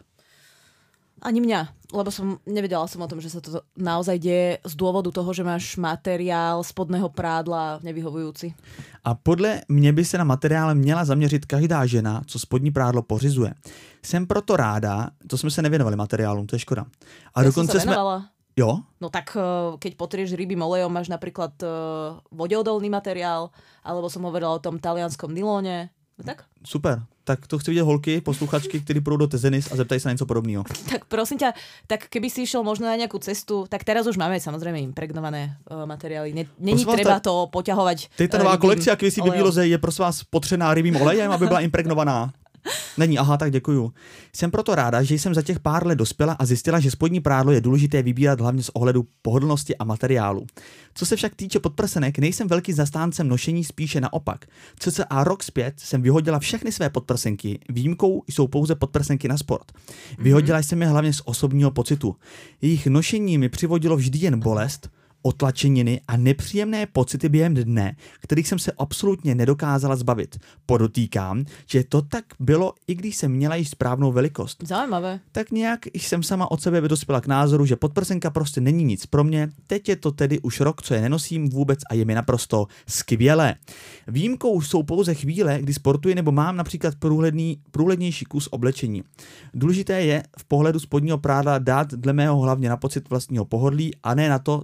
Ani mňa, lebo som nevedela som o tom, že sa to naozaj deje z dôvodu toho, že máš materiál spodného prádla nevyhovujúci. A podle mě by se na materiál měla zaměřit každá žena, co spodní prádlo pořizuje. Jsem proto ráda, to jsme se nevěnovali materiálům, to je škoda. A ja dokonce som sa venovala. Jsme... Jo? No tak keď potrieš rybím olejom, máš napríklad vodeodolný materiál, alebo som hovorila o tom talianskom nylóne. No tak? Super. Tak to chci vidět holky, posluchačky, kteří půjdou do Tezenis a zeptají se na něco podobného. Tak prosím ťa, tak keby si išiel možno na nejakú cestu, tak teraz už máme samozrejme impregnované uh, materiály. Ne, není treba ta, to poťahovať. Teď ta nová kolekcia Kvisí Bibiloze je prosím vás potřená rybím olejem, aby byla impregnovaná. Není, aha, tak děkuju. Jsem proto ráda, že jsem za těch pár let dospěla a zjistila, že spodní prádlo je důležité vybírat hlavně z ohledu pohodlnosti a materiálu. Co se však týče podprsenek, nejsem velký zastáncem nošení, spíše naopak. Cca rok zpět jsem vyhodila všechny své podprsenky, výjimkou jsou pouze podprsenky na sport. Vyhodila jsem je hlavně z osobního pocitu. Jejich nošení mi přivodilo vždy jen bolest, otlačeniny a nepříjemné pocity během dne, kterých jsem se absolutně nedokázala zbavit. Podotýkám, že to tak bylo, i když jsem měla již správnou velikost. Zajímavé. Tak nějak jsem sama od sebe dospěla k názoru, že podprsenka prostě není nic pro mě. Teď je to tedy už rok, co je nenosím vůbec a je mi naprosto skvělé. Výjimkou jsou pouze chvíle, kdy sportuji nebo mám například průhledný, průhlednější kus oblečení. Důležité je v pohledu spodního prádla dát dle mého hlavně na pocit vlastního pohodlí a ne na to, co se líbí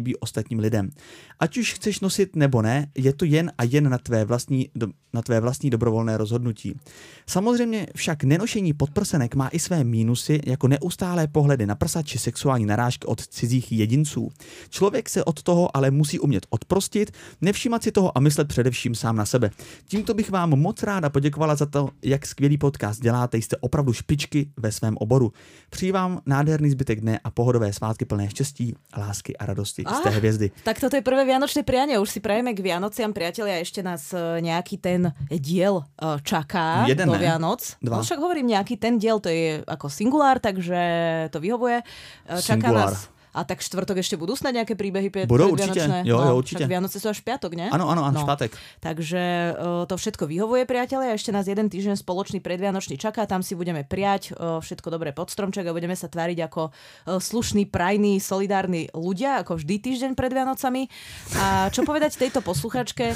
líbí ostatním lidem. Ať už chceš nosit nebo ne, je to jen a jen na tvé vlastní, do, na tvé vlastní dobrovolné rozhodnutí. Samozřejmě však nenošení podprsenek má i své mínusy, jako neustálé pohledy na prsa či sexuální narážky od cizích jedinců. Člověk se od toho ale musí umět odprostit, nevšímat si toho a myslet především sám na sebe. Tímto bych vám moc ráda poděkovala za to, jak skvělý podcast děláte, jste opravdu špičky ve svém oboru. Přeji vám nádherný zbytek dne a pohodové svátky plné štěstí, lásky a radosti ah, z té hvězdy. Tak toto je prvé vianočné prianie, už si prajeme k Vianociam, priatelia, ešte nás nejaký ten diel čaká Jeden, do ne? Vianoc. Dva. No však hovorím, nejaký ten diel, to je ako singulár, takže to vyhovuje. Čaká Singulár. nás. A tak štvrtok ešte budú snad nejaké príbehy pred, Budou predvianočné? určite, jo, jo, No, určite. Však Vianoce sú až v piatok, ne? Áno, áno, áno, No. špátek. Takže uh, to všetko vyhovuje, priatelia. Ešte nás jeden týždeň spoločný predvianočný čaká. Tam si budeme prijať uh, všetko dobré pod stromček a budeme sa tváriť ako uh, slušní, prajní, solidárni ľudia, ako vždy týždeň pred Vianocami. A čo povedať tejto posluchačke?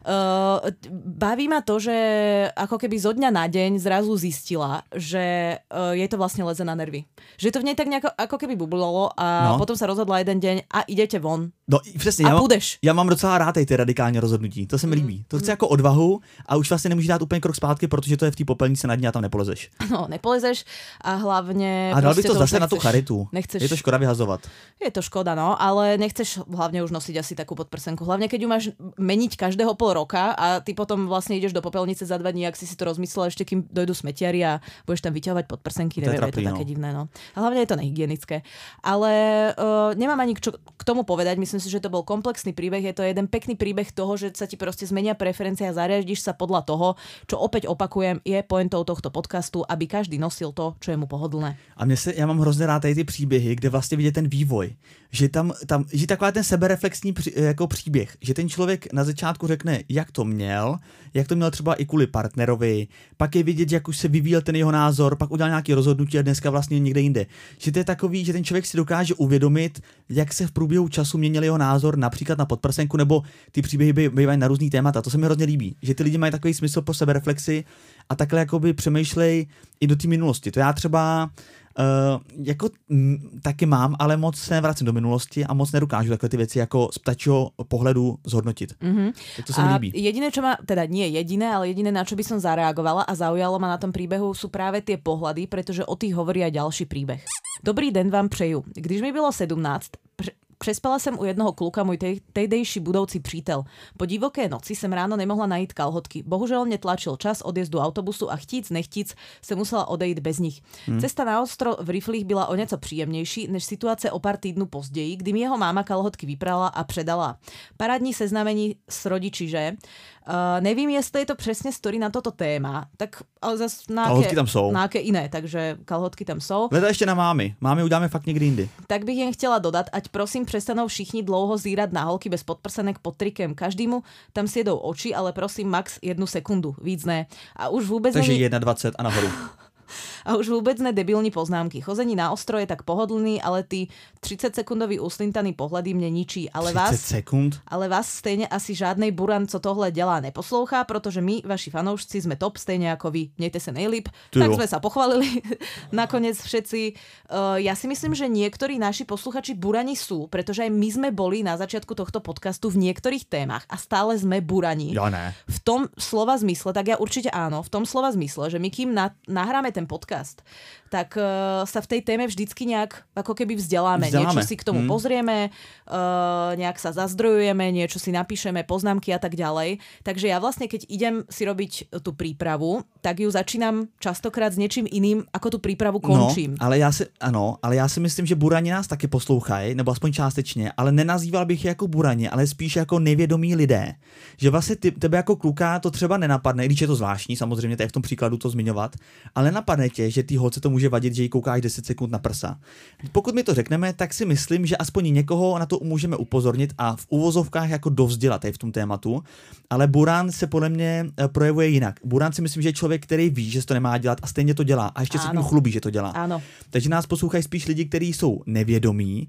Uh, baví ma to, že ako keby zo dňa na deň zrazu zistila, že uh, jej to vlastne leze na nervy. Že to v nej tak nejako ako keby bublalo a No. potom sa rozhodla jeden deň a idete von. No přesně, A já, mám, budeš. já mám docela rád ty radikální rozhodnutí, to se mi líbí. To chce jako odvahu a už vlastně nemůžeš dát úplně krok zpátky, protože to je v té popelnici na dně a tam nepolezeš. No, nepolezeš a hlavne... A dal bych proste to už zase na tu nechceš- charitu. Nechceš, Je to škoda vyhazovat. je to škoda, no, ale nechceš hlavne už nosiť asi takú podprsenku. Hlavne, keď ju máš meniť každého pol roka a ty potom vlastne ideš do popelnice za dva dní, ak si si to rozmyslel, ešte kým dojdú smetiari a budeš tam vyťahovať podprsenky, To je neviem, je to trapný, také no. divné, no. A hlavne je to nehygienické. Ale uh, nemám ani čo k tomu povedať, myslím si, že to bol komplexný príbeh, je to jeden pekný príbeh toho, že sa ti proste zmenia preferencia a zariadiš sa podľa toho, čo opäť opakujem, je pointou tohto podcastu, aby každý nosil to, čo je mu pohodlné. A mě se, já mám hrozně rád tady ty příběhy, kde vlastně vidět ten vývoj. Že tam, tam že taková ten sebereflexní při, jako příběh, že ten člověk na začátku řekne, jak to měl, jak to měl třeba i kvůli partnerovi, pak je vidět, jak už se vyvíjel ten jeho názor, pak udělal nějaké rozhodnutí a dneska vlastně někde jinde. Že to je takový, že ten člověk si dokáže uvědomit, jak se v průběhu času měnil jeho názor například na podprsenku, nebo ty příběhy bývají na různý témata. To se mi hrozně líbí, že ty lidi mají takový smysl pro sebereflexi a takhle jakoby přemýšlej i do té minulosti. To já třeba Uh, jako m, taky mám, ale moc se nevracím do minulosti a moc nedokážu takhle ty věci jako z ptačího pohledu zhodnotit. Mm-hmm. Tak to se mi a líbí. jediné, čo ma, teda nie jediné, ale jediné, na čo by som zareagovala a zaujalo ma na tom príbehu, sú práve tie pohľady, pretože o tých hovorí aj ďalší príbeh. Dobrý den vám přeju. Když mi bylo sedmnáct, pr- Přespala jsem u jednoho kluka, můj tej, tehdejší budoucí přítel. Po divoké noci jsem ráno nemohla najít kalhotky. Bohužel mě tlačil čas odjezdu autobusu a chtíc nechtíc se musela odejít bez nich. Hmm. Cesta na ostro v riflích byla o něco příjemnější než situace o pár týdnů později, kdy mi jeho máma kalhotky vyprala a předala. Parádní seznámení s rodiči, že? Uh, nevím, jestli je to přesně story na toto téma, tak ale zase na Kalhotky tam jsou. Na aké iné, takže kalhotky tam jsou. Hleda ještě na mámy. Mámy uděláme fakt někdy jindy. Tak bych jen chtěla dodat, ať prosím přestanou všichni dlouho zírat na holky bez podprsenek pod trikem. Každému tam sjedou oči, ale prosím max jednu sekundu, víc ne. A už vůbec Takže není... dvacet jedna a nahoru. A už vůbec ne debilní poznámky. Chození na ostro je tak pohodlný, ale ty třicetsekundový uslintaný pohledy mě ničí. Ale třicet vás, sekund? ale vás stejně asi žádnej buran, co tohle dělá, neposlouchá, protože my, vaši fanoušci, jsme top stejně jako vy. Mějte se nejlíp. Ty Tak jo. jsme sa pochválili. Nakonec všetci. Uh, ja si myslím, že niektorí naši posluchači burani sú, pretože aj my sme boli na začiatku tohto podcastu v niektorých témach a stále sme burani. Já ne. V tom slova zmysle, tak ja určite áno, v tom slova zmysle, že my kým na, nahráme ten podcast, tak uh, sa v tej téme vždycky nejak ako keby vzdeláme. Vzdeláme. Niečo si k tomu hmm. pozrieme, uh, nejak sa zazdrojujeme, niečo si napíšeme, poznámky a tak ďalej. Takže ja vlastne, keď idem si robiť tú prípravu, tak ju začínam častokrát s niečím iným, ako tú prípravu končím. No, ale já si, ano, ale já si myslím, že burani nás taky poslouchají, nebo aspoň částečně, ale nenazýval bych je jako burani, ale spíš jako nevědomí lidé. Že vlastně ty, tebe jako kluka to třeba nenapadne, když je to zvláštní, samozřejmě, to je v tom příkladu to zmiňovat, ale napadne tě, že ty holce to může vadit, že jí koukáš deset sekund na prsa. Pokud mi to řekneme, tak si myslím, že aspoň někoho na to můžeme upozornit a v uvozovkách jako dovzdělat v tom tématu, ale buran se podle mě projevuje jinak. Buran si myslím, že je člověk, který ví, že se to nemá dělat a stejně to dělá a ještě se tím chlubí, že to dělá. Áno. Takže nás poslouchají spíš lidi, kteří jsou nevědomí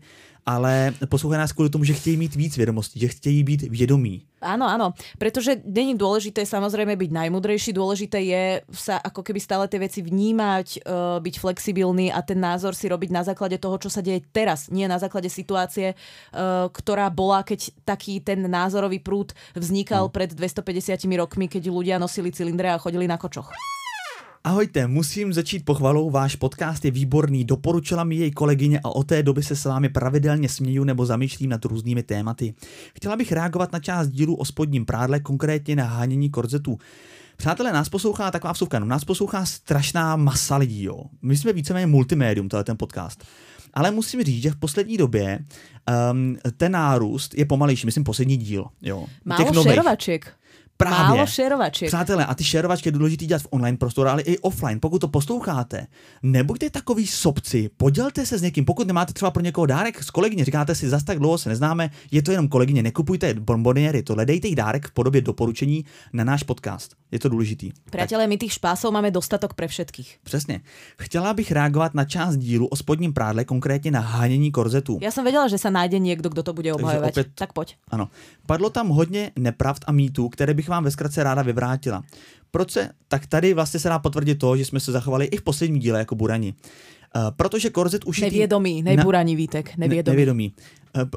ale poslouchají nás kvôli tomu, že chtějí mít víc vědomostí, že chtějí být vědomí. Áno, áno, pretože není dôležité samozrejme byť najmudrejší, dôležité je sa ako keby stále tie veci vnímať, uh, byť flexibilný a ten názor si robiť na základe toho, čo sa deje teraz, nie na základe situácie, uh, ktorá bola, keď taký ten názorový prúd vznikal no. pred dvestopäťdesiatimi rokmi, keď ľudia nosili cylindre a chodili na kočoch. Ahojte, musím začít pochvalou, váš podcast je výborný, doporučila mi jej kolegyně a od té doby se s vámi pravidelně směju nebo zamýšlím nad různými tématy. Chtěla bych reagovat na část dílu o spodním prádle, konkrétně na hánění korzetů. Přátelé, nás poslouchá taková vsuvka, no, nás poslouchá strašná masa lidí, jo. My jsme víceméně multimédium, tohle ten podcast. Ale musím říct, že v poslední době um, ten nárůst je pomalejší, myslím poslední díl, jo. Málo šerovaček. Právě. Málo šerovaček. Přátelé, a ty šerovačky je důležité dělat v online prostoru, ale i offline. Pokud to posloucháte, nebuďte takový sobci, podělte se s někým. Pokud nemáte třeba pro někoho dárek s kolegyně, říkáte si, zas tak dlouho se neznáme, je to jenom kolegyně, nekupujte bonboniéry, tohle dejte jí dárek v podobě doporučení na náš podcast. Je to důležitý. Priatelé, my tých špásov máme dostatok pre všetkých. Přesně. Chtěla bych reagovat na část dílu o spodním prádle, konkrétně na hánění korzetů. Já jsem věděla, že se najde někdo, kdo to bude obhajovat. Opět... Tak pojď. Ano. Padlo tam hodně nepravd a mýtů, které bych vám ve zkratce ráda vyvrátila. Proč se? Tak tady vlastně se dá potvrdit to, že jsme se zachovali i v posledním díle jako burani. Uh, protože korzet ušitý... Nevědomý, nejburani, na... Vítek, nevědomý. Ne, nevědomý. Uh,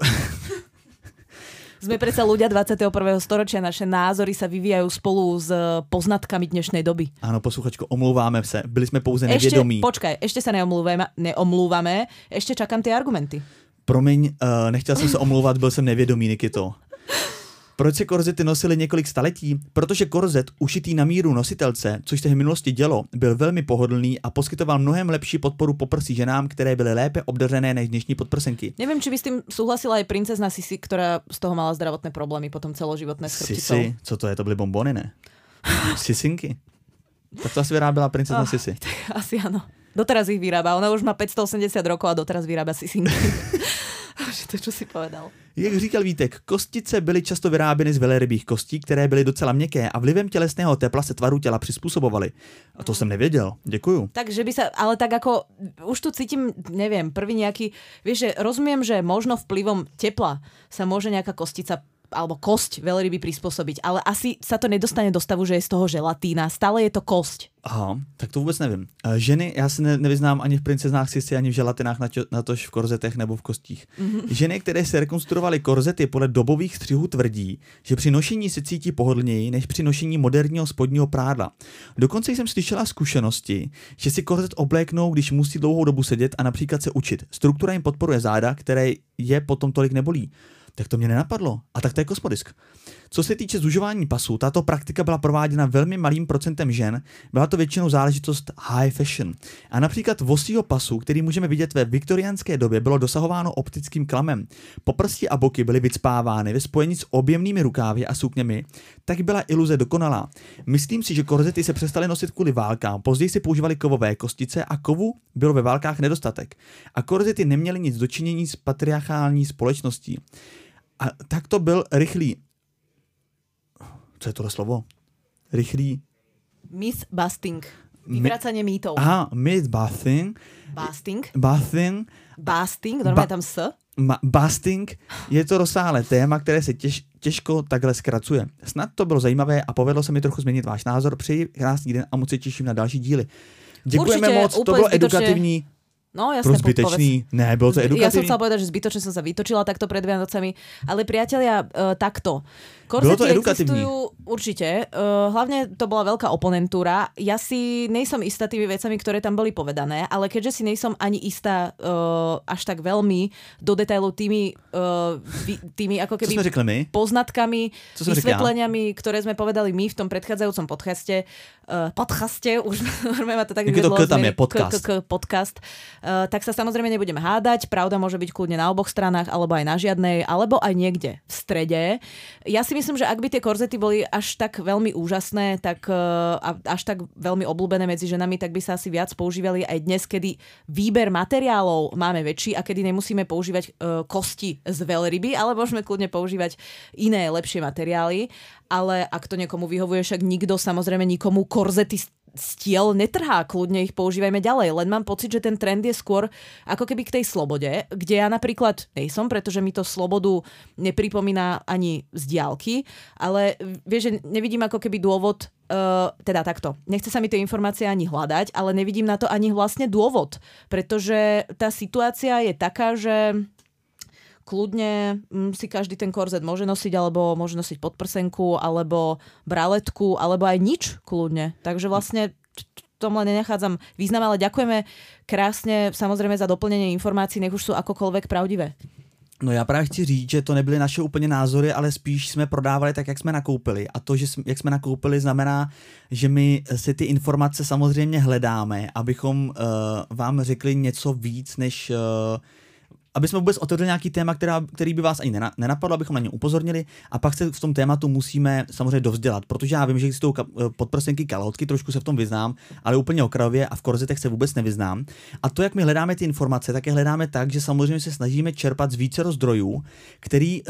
Sme predsa ľudia dvadsiateho prvého storočia, naše názory sa vyvíjajú spolu s poznatkami dnešnej doby. Áno, posluchačko, omlouváme se, byli sme pouze nevědomí. Ešte, počkaj, ešte sa neomlúvame, neomlúvame, ešte čakám tie argumenty. Promiň, uh, nechtěl jsem se omlouvat, byl jsem nevědomý, Nikito. Proč se korzety nosily několik staletí? Protože korzet ušitý na míru nositelce, což se v minulosti dělo, byl velmi pohodlný a poskytoval mnohem lepší podporu poprsí ženám, které byly lépe obdařené než dnešní podprsenky. Nevím, či by s tím souhlasila i princezna Sisi, která z toho mala zdravotné problémy, potom celoživotné s chrbticou. Sisi? Co to je? To byly bombony, ne? Sisinky? Tak to asi vyráběla princezna oh, Sisi. Asi ano. Doteraz ich vyrába. Ona už má päťstoosemdesiat rokov a doteraz vyrába sisinky. To, čo si povedal. Jak říkal Vítek, kostice byly často vyráběny z velrybích kostí, které byly docela měkké a vlivem tělesného tepla se tvaru těla přizpůsobovaly. A to jsem nevěděl. Děkuju. Takže by sa, ale tak ako, už tu cítim, neviem, prvý nejaký, vieš, že rozumiem, že možno vplyvom tepla sa môže nejaká kostica alebo kosť veľryby prispôsobiť, ale asi sa to nedostane do stavu, že je z toho želatína. Stále je to kosť. Aha, tak to vůbec nevím. Ženy, já se ne, nevyznám ani v princeznách Sisi, ani v želatinách, natož v korzetech nebo v kostích. Mm-hmm. Ženy, které se rekonstruovaly korzety podle dobových střihů, tvrdí, že při nošení se cítí pohodlněji než při nošení moderního spodního prádla. Dokonce jsem slyšela zkušenosti, že si korzet obléknou, když musí dlouhou dobu sedět a například se učit. Struktura jim podporuje záda, které je potom tolik nebolí. Tak to mě nenapadlo. A tak to je kosmodisk. Co se týče zužování pasů, tato praktika byla prováděna velmi malým procentem žen, byla to většinou záležitost high fashion. A například vosího pasu, který můžeme vidět ve viktoriánské době, bylo dosahováno optickým klamem. Poprsti a boky byly vycpávány ve spojení s objemnými rukávy a sukněmi, tak byla iluze dokonalá. Myslím si, že korzety se přestaly nosit kvůli válkám, později se používaly kovové kostice a kovu bylo ve válkách nedostatek. A korzety neměly nic dočinění s patriarchální společností. A tak to byl rychlý... Co je tohle slovo? Rychlý... Myth-busting. Vyvracanie mýtov. Aha, myth-busting. Busting. Busting. Busting, normálně ba- tam s. Ma- busting je to rozsáhlé téma, které se těž, těžko takhle zkracuje. Snad to bylo zajímavé a povedlo se mi trochu změnit váš názor. Přeji krásný den a moc se těším na další díly. Děkujeme Určitě, moc, to bylo zbytočne... edukativní. No jasne, zbytečný. Povedz. Ne, bolo to edukativní. Ja som chcela povedať, že zbytočne som sa vytočila takto pred Vianocami, ale priatelia, uh, takto. Korzety existujú určite. Uh, hlavne to bola veľká oponentúra. Ja si nejsom istá tými vecami, ktoré tam boli povedané, ale keďže si nejsom ani istá uh, až tak veľmi do detailu tými, uh, tými ako keby poznatkami, vysvetleniami, ktoré sme povedali my v tom predchádzajúcom podcaste, uh, podcaste, už ma to tak vyvedlo, podcast, uh, tak sa samozrejme nebudeme hádať. Pravda môže byť kľudne na oboch stranách, alebo aj na žiadnej, alebo aj niekde v strede. Ja si myslím, že ak by tie korzety boli až tak veľmi úžasné, tak uh, až tak veľmi obľúbené medzi ženami, tak by sa asi viac používali aj dnes, kedy výber materiálov máme väčší a kedy nemusíme používať uh, kosti z veľryby, ale môžeme kľudne používať iné, lepšie materiály. Ale ak to niekomu vyhovuje, však nikto samozrejme nikomu korzety stiel netrhá, kľudne ich používajme ďalej. Len mám pocit, že ten trend je skôr ako keby k tej slobode, kde ja napríklad nejsom, pretože mi to slobodu nepripomína ani z diaľky, ale vieš, že nevidím ako keby dôvod, uh, teda takto, nechce sa mi tie informácie ani hľadať, ale nevidím na to ani vlastne dôvod, pretože tá situácia je taká, že kľudne si každý ten korzet môže nosiť, alebo môže nosiť podprsenku, alebo braletku, alebo aj nič kľudne. Takže vlastne tomu len nenachádzam význam, ale ďakujeme krásne samozrejme za doplnenie informácií, nech už sú akokoľvek pravdivé. No já právě chci říct, že to nebyly naše úplně názory, ale spíš jsme prodávali tak, jak jsme nakoupili. A to, že jsme, jak jsme nakoupili, znamená, že my si ty informace samozřejmě hledáme, abychom uh, vám řekli něco víc, než... Uh, aby jsme vůbec otevřeli nějaký téma, která, který by vás ani nenapadlo, abychom na ně upozornili, a pak se v tom tématu musíme samozřejmě dovzdělat, protože já vím, že existují podprsenky, kalhotky, trošku se v tom vyznám, ale úplně okrajově, a v korzetech se vůbec nevyznám. A to, jak my hledáme ty informace, tak je hledáme tak, že samozřejmě se snažíme čerpat z vícero zdrojů, který,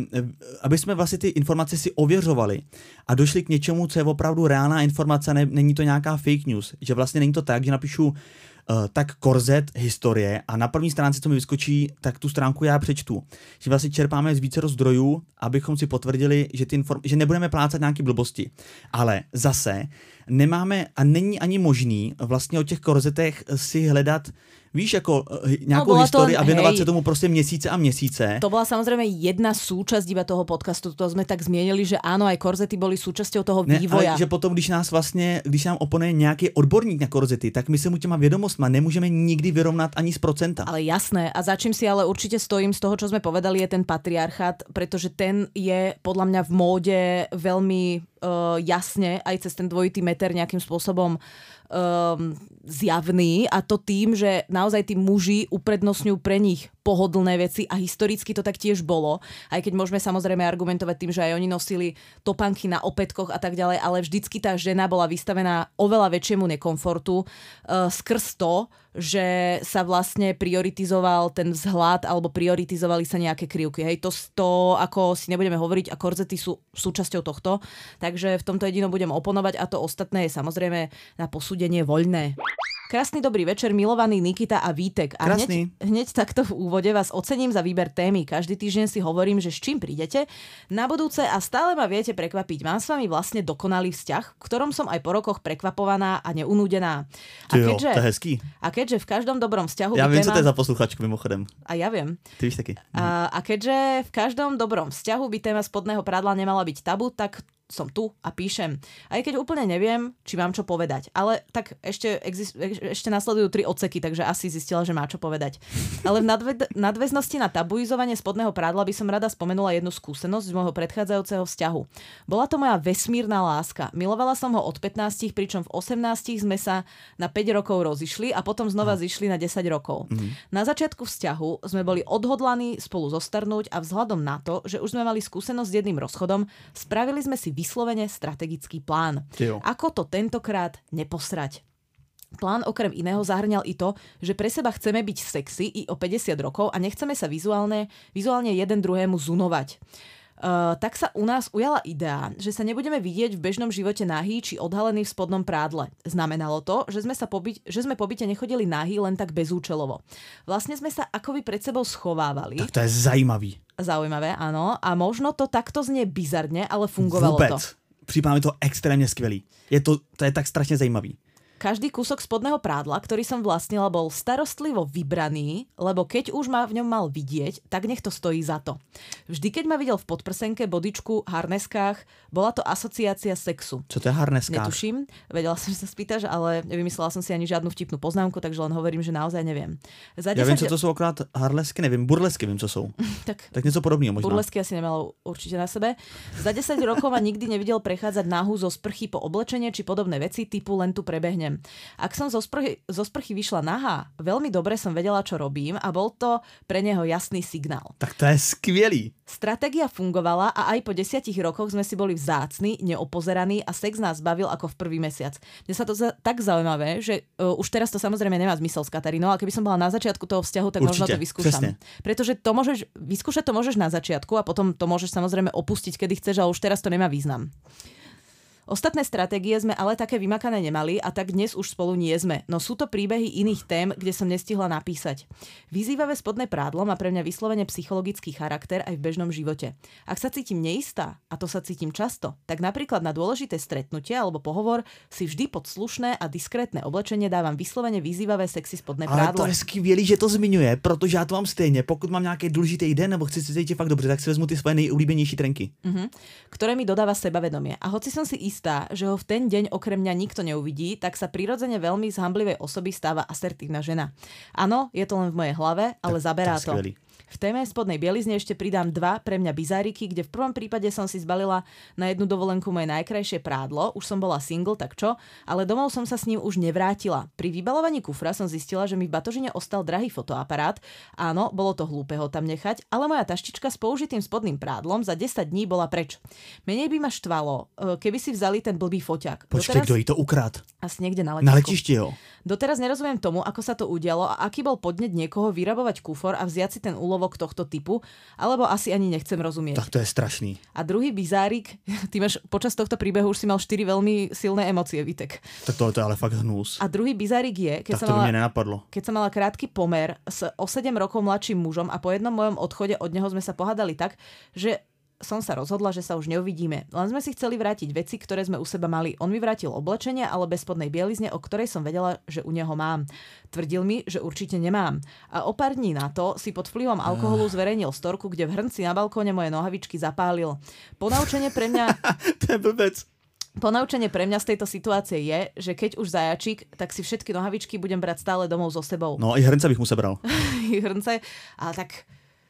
aby jsme vlastně ty informace si ověřovali a došli k něčemu, co je opravdu reálná informace, ne, není to nějaká fake news, že vlastně není to tak, že napíšu Uh, tak korzet historie a na první stránce, co mi vyskočí, tak tu stránku já přečtu. Že vlastně čerpáme z vícero zdrojů, abychom si potvrdili, že, ty inform- že nebudeme plácat nějaké blbosti. Ale zase nemáme a není ani možný vlastně o těch korzetech si hledat, víš, jako nějakou no, historii to, a věnovat hej, se tomu prostě měsíce a měsíce. To bola samozrejme jedna súčasť iba toho podcastu, to sme tak zmienili, že áno, aj korzety boli súčasťou toho ne, vývoja. Ale že potom, když nás vlastně, když nám oponuje nějaký odborník na korzety, tak my se mu těma vědomostma nemůžeme nikdy vyrovnat ani z procenta. Ale jasné, a za čím si ale určite stojím z toho, čo sme povedali, je ten patriarchát, pretože ten je podľa mňa v móde veľmi uh, jasne, aj cez ten dvojitý meter nejakým spôsobom Um, zjavný, a to tým, že naozaj tí muži uprednostňujú pre nich pohodlné veci, a historicky to tak tiež bolo, aj keď môžeme samozrejme argumentovať tým, že aj oni nosili topánky na opätkoch a tak ďalej, ale vždycky tá žena bola vystavená oveľa väčšiemu nekomfortu uh, skrz to, že sa vlastne prioritizoval ten vzhľad alebo prioritizovali sa nejaké krivky. Hej, to, to ako si nebudeme hovoriť, a korzety sú súčasťou tohto, takže v tomto jedinom budem oponovať, a to ostatné je samozrejme na posúdenie voľné. Krásny dobrý večer, milovaný Nikita a Vítek. A hneď, hneď takto v úvode vás ocením za výber témy. Každý týždeň si hovorím, že s čím prídete na budúce, a stále ma viete prekvapiť. Mám s vami vlastne dokonalý vzťah, v ktorom som aj po rokoch prekvapovaná a neunúdená. A jo, keďže, to je hezký. A keďže v každom dobrom vzťahu... Ja viem, téma... co to je za posluchačku mimochodem. A ja viem. Ty víš taky. A, a keďže v každom dobrom vzťahu by téma spodného prádla nemala byť tabu, tak som tu a píšem. Aj keď úplne neviem, či mám čo povedať. Ale tak ešte, exist, ešte nasledujú tri odseky, takže asi zistila, že má čo povedať. Ale v nadve, nadväznosti na tabuizovanie spodného prádla by som rada spomenula jednu skúsenosť z môjho predchádzajúceho vzťahu. Bola to moja vesmírna láska. Milovala som ho od pätnástich, pričom v osemnástich sme sa na päť rokov rozišli a potom znova zišli na desať rokov. Mm-hmm. Na začiatku vzťahu sme boli odhodlaní spolu zostarnúť a vzhľadom na to, že už sme mali skúsenosť s jedným rozchodom, spravili sme si vyslovene strategický plán. Jo. Ako to tentokrát neposrať? Plán okrem iného zahrňal i to, že pre seba chceme byť sexy i o päťdesiat rokov a nechceme sa vizuálne, vizuálne jeden druhému zunovať. Uh, tak sa u nás ujala idea, že sa nebudeme vidieť v bežnom živote nahý či odhalený v spodnom prádle. Znamenalo to, že sme, sa po byť, že sme po byte nechodili nahý len tak bezúčelovo. Vlastne sme sa akoby pred sebou schovávali. Tak to je zajímavý. Zaujímavé, áno. A možno to takto znie bizarne, ale fungovalo Vůbec. to. Připadá mi to extrémně skvělý. Je to, to je tak strašně zajímavý. Každý kúsok spodného prádla, ktorý som vlastnila, bol starostlivo vybraný, lebo keď už ma v ňom mal vidieť, tak nech to stojí za to. Vždy, keď ma videl v podprsenke, bodičku, harneskách, bola to asociácia sexu. Čo to je harneskách? Netuším, vedela som, že sa spýtaš, ale nevymyslela som si ani žiadnu vtipnú poznámku, takže len hovorím, že naozaj neviem. Za ja viem, čo to sú akorát harlesky, neviem, burlesky viem, čo sú. tak, tak niečo podobného možno. Burlesky asi nemalo určite na sebe. Za desať rokov ma nikdy nevidel prechádzať náhu zo sprchy po oblečenie či podobné veci typu len tu prebehnem. Ak som zo sprchy, zo sprchy vyšla nahá, veľmi dobre som vedela, čo robím, a bol to pre neho jasný signál. Tak to je skvělý. Stratégia fungovala a aj po desiatich rokoch sme si boli vzácni, neopozeraní a sex nás bavil ako v prvý mesiac. Mne sa to za, tak zaujímavé, že uh, už teraz to samozrejme nemá zmysel s Katarínou, ale keby som bola na začiatku toho vzťahu, tak určite, možno to vyskúšam. Presne. Pretože to môžeš, vyskúšať to môžeš na začiatku a potom to môžeš samozrejme opustiť, kedy chceš, ale už teraz to nemá význam. Ostatné stratégie sme ale také vymakané nemali a tak dnes už spolu nie sme. No sú to príbehy iných tém, kde som nestihla napísať. Vyzývavé spodné prádlo má pre mňa vyslovene psychologický charakter aj v bežnom živote. Ak sa cítim neistá, a to sa cítim často, tak napríklad na dôležité stretnutie alebo pohovor si vždy pod slušné a diskrétne oblečenie dávam vyslovene vyzývavé sexy spodné prádlo. Ale to je skvělý, že to zmiňuje, protože já to mám stejně. Pokud mám nějaký důležitý den nebo chci se cítit fakt dobře, tak si vezmu ty svoje nejoblíbenější trenky. Uh-huh. Ktoré mi dodáva sebavedomie. A hoci som si istá, že ho v ten deň okrem mňa nikto neuvidí, tak sa prirodzene veľmi z hanblivej osoby stáva asertívna žena. Áno, je to len v mojej hlave, ale tak, zaberá to. Skvělý. V téme spodnej bielizne ešte pridám dva pre mňa bizáriky, kde v prvom prípade som si zbalila na jednu dovolenku moje najkrajšie prádlo, už som bola single, tak čo, ale domov som sa s ním už nevrátila. Pri vybalovaní kufra som zistila, že mi v batožine ostal drahý fotoaparát. Áno, bolo to hlúpe ho tam nechať, ale moja taštička s použitým spodným prádlom za desať dní bola preč. Menej by ma štvalo, keby si vzali ten blbý foťák. Počkej, Doteraz... kto jí to ukrát? Asi niekde na letisku. Na letišti, jo. Doteraz nerozumiem tomu, ako sa to udialo a aký bol podnet niekoho vyrabovať kufor a vziať si ten úlovok tohto typu, alebo asi ani nechcem rozumieť. Tak to je strašný. A druhý bizárik, ty máš počas tohto príbehu už si mal štyri veľmi silné emócie, Vitek. Tak tohle to je ale fakt hnus. A druhý bizárik je, keď tak som to mala, by mne nenapadlo. Keď som mala krátky pomer s o sedem rokov mladším mužom a po jednom mojom odchode od neho sme sa pohádali tak, že som sa rozhodla, že sa už neuvidíme. Len sme si chceli vrátiť veci, ktoré sme u seba mali. On mi vrátil oblečenie, ale bez spodnej bielizne, o ktorej som vedela, že u neho mám. Tvrdil mi, že určite nemám. A o pár dní na to si pod vplyvom alkoholu zverejnil storku, kde v hrnci na balkóne moje nohavičky zapálil. Ponaučenie pre mňa... To je blbec. Ponaučenie pre mňa z tejto situácie je, že keď už zajačík, tak si všetky nohavičky budem brať stále domov so sebou. No i hrnce bych mu sebral. Hrnce, ale tak...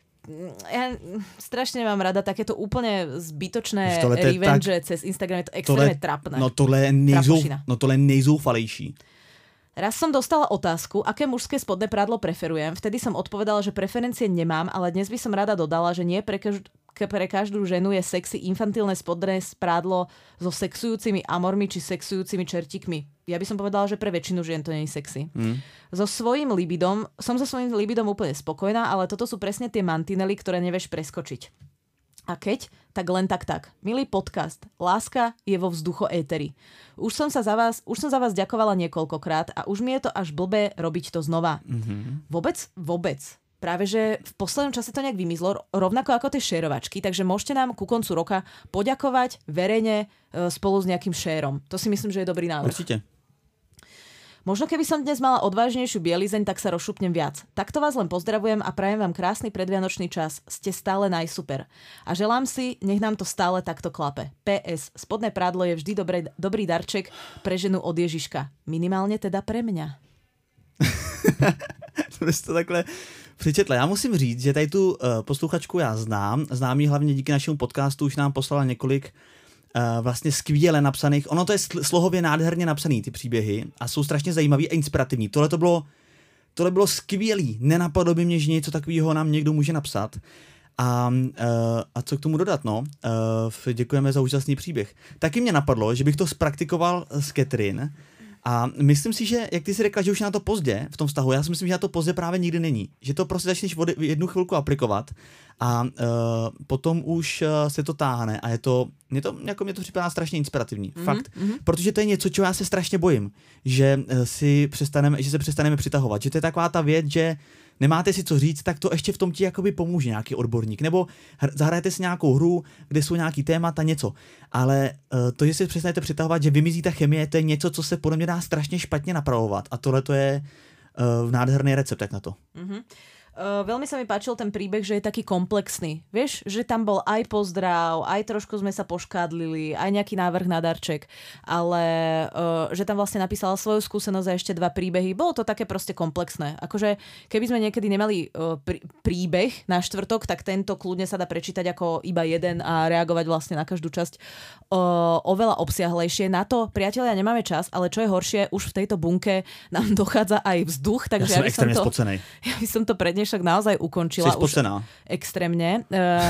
Ja strašne nemám rada takéto úplne zbytočné revenge tak, cez Instagram, je to extrémne trapné. No tohle je, nejzou, no tohle je nejzoufalejší. Raz som dostala otázku, aké mužské spodné prádlo preferujem. Vtedy som odpovedala, že preferencie nemám, ale dnes by som rada dodala, že nie pre, každ- pre každú ženu je sexy infantilné spodné prádlo so sexujúcimi amormi či sexujúcimi čertíkmi. Ja by som povedala, že pre väčšinu žien to nie je sexy. Mm. So svojím libidom, som so svojím libidom úplne spokojná, ale toto sú presne tie mantinely, ktoré nevieš preskočiť. A keď, tak len tak tak. Milý podcast, láska je vo vzducho éteri. Už som sa za vás, už som za vás ďakovala niekoľkokrát a už mi je to až blbé robiť to znova. Mm-hmm. Vôbec, vôbec. Práve, že v poslednom čase to nejak vymizlo, rovnako ako tie šérovačky, takže môžete nám ku koncu roka poďakovať verejne spolu s nejakým šérom. To si myslím, že je dobrý návrh. Určite. Možno keby som dnes mala odvážnejšiu bielizeň, tak sa rozšupnem viac. Takto vás len pozdravujem a prajem vám krásny predvianočný čas. Ste stále najsuper. A želám si, nech nám to stále takto klape. pé es. Spodné prádlo je vždy dobrý, dobrý darček pre ženu od Ježiška. Minimálně teda pre mňa. To jsi to takhle přečetla. Já musím říct, že tady tu uh, posluchačku já znám. Znám ji hlavně díky našemu podcastu, už nám poslala několik Uh, vlastně skvěle napsaných. Ono to je sl- slohově nádherně napsaný, ty příběhy, a jsou strašně zajímavý a inspirativní. Tohle to bylo, tohle bylo skvělý. Nenapadlo by mě, že něco takového nám někdo může napsat. A, uh, a co k tomu dodat, no? Uh, děkujeme za úžasný příběh. Taky mě napadlo, že bych to zpraktikoval s Catherine. A myslím si, že, jak ty si řekla, že už je na to pozdě v tom vztahu, já si myslím, že na to pozdě právě nikdy není. Že to prostě začneš jednu chvilku aplikovat a uh, potom už uh, se to táhne a je to, mě to, jako mě to připadá strašně inspirativní. Mm-hmm, fakt. Mm-hmm. Protože to je něco, čeho já se strašně bojím. Že, uh, si přestaneme, že se přestaneme přitahovat. Že to je taková ta věc, že nemáte si co říct, tak to ještě v tom ti jakoby pomůže nějaký odborník. Nebo hr- zahrajete si nějakou hru, kde jsou nějaký témata, něco. Ale uh, to, že si přestanete přitahovat, že vymizí ta chemie, to je něco, co se podle mě dá strašně špatně napravovat. A tohle to je uh, nádherný recept jak na to. Mm-hmm. Uh, veľmi sa mi páčil ten príbeh, že je taký komplexný. Vieš, že tam bol aj pozdrav, aj trošku sme sa poškádlili, aj nejaký návrh na darček, ale uh, že tam vlastne napísala svoju skúsenosť a ešte dva príbehy. Bolo to také proste komplexné. Akože keby sme niekedy nemali uh, prí, príbeh na štvrtok, tak tento kľudne sa dá prečítať ako iba jeden a reagovať vlastne na každú časť uh, oveľa obsiahlejšie. Na to, priatelia, nemáme čas, ale čo je horšie, už v tejto bunke nám dochádza aj vzduch, takže ja, ja by som to, spocenej. ja by som to predne dnešok naozaj ukončila. Si spocená. Extrémne.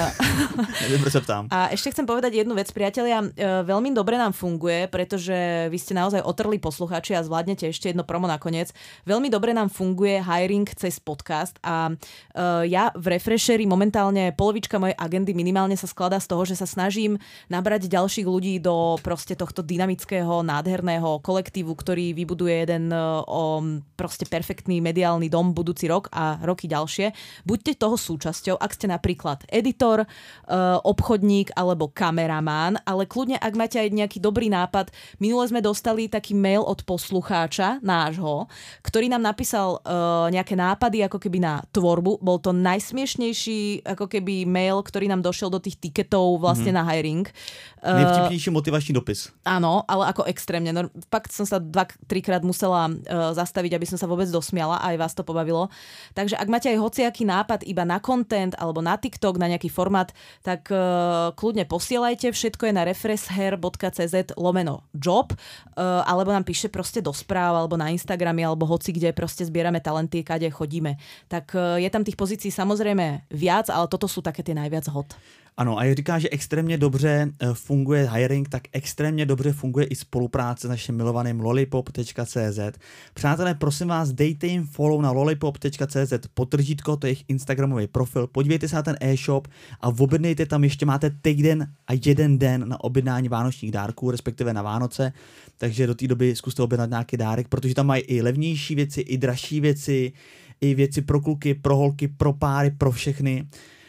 Uh, sa ptám. A ešte chcem povedať jednu vec, priatelia. Uh, veľmi dobre nám funguje, pretože vy ste naozaj otrli poslucháči a zvládnete ešte jedno promo nakoniec. Veľmi dobre nám funguje hiring cez podcast a uh, ja v Refresheri momentálne polovička mojej agendy minimálne sa skladá z toho, že sa snažím nabrať ďalších ľudí do proste tohto dynamického, nádherného kolektívu, ktorý vybuduje jeden uh, o, proste perfektný mediálny dom budúci rok a roky ďalšie. Buďte toho súčasťou, ak ste napríklad editor, obchodník alebo kameramán, ale kľudne, ak máte aj nejaký dobrý nápad. Minule sme dostali taký mail od poslucháča nášho, ktorý nám napísal nejaké nápady ako keby na tvorbu. Bol to najsmiešnejší ako keby mail, ktorý nám došiel do tých tiketov vlastne mm-hmm. na hiring. Najvtipnejší motivačný dopis. Áno, ale ako extrémne. No, fakt som sa dva, trikrát musela uh, zastaviť, aby som sa vôbec dosmiala a aj vás to pobavilo. Takže ak máte aj hociaký nápad iba na content alebo na TikTok, na nejaký formát, tak uh, kľudne posielajte. Všetko je na refresher.cz lomeno job uh, alebo nám píše proste do správ alebo na Instagrame alebo hoci kde proste zbierame talenty, kade chodíme. Tak uh, je tam tých pozícií samozrejme viac, ale toto sú také tie najviac hot. Ano, a jak říká, že extrémně dobře funguje hiring, tak extrémně dobře funguje i spolupráce s naším milovaným lollipop tečka cé zet. Přátelé, prosím vás, dejte jim follow na lollipop tečka cé zet, podtržítko, to je jejich instagramový profil, podívejte se na ten e-shop a objednejte tam, ještě máte týden a jeden den na objednání vánočních dárků, respektive na Vánoce, takže do té doby zkuste objednat nějaký dárek, protože tam mají i levnější věci, i dražší věci, i věci pro kluky, pro holky, pro páry, pro všechny.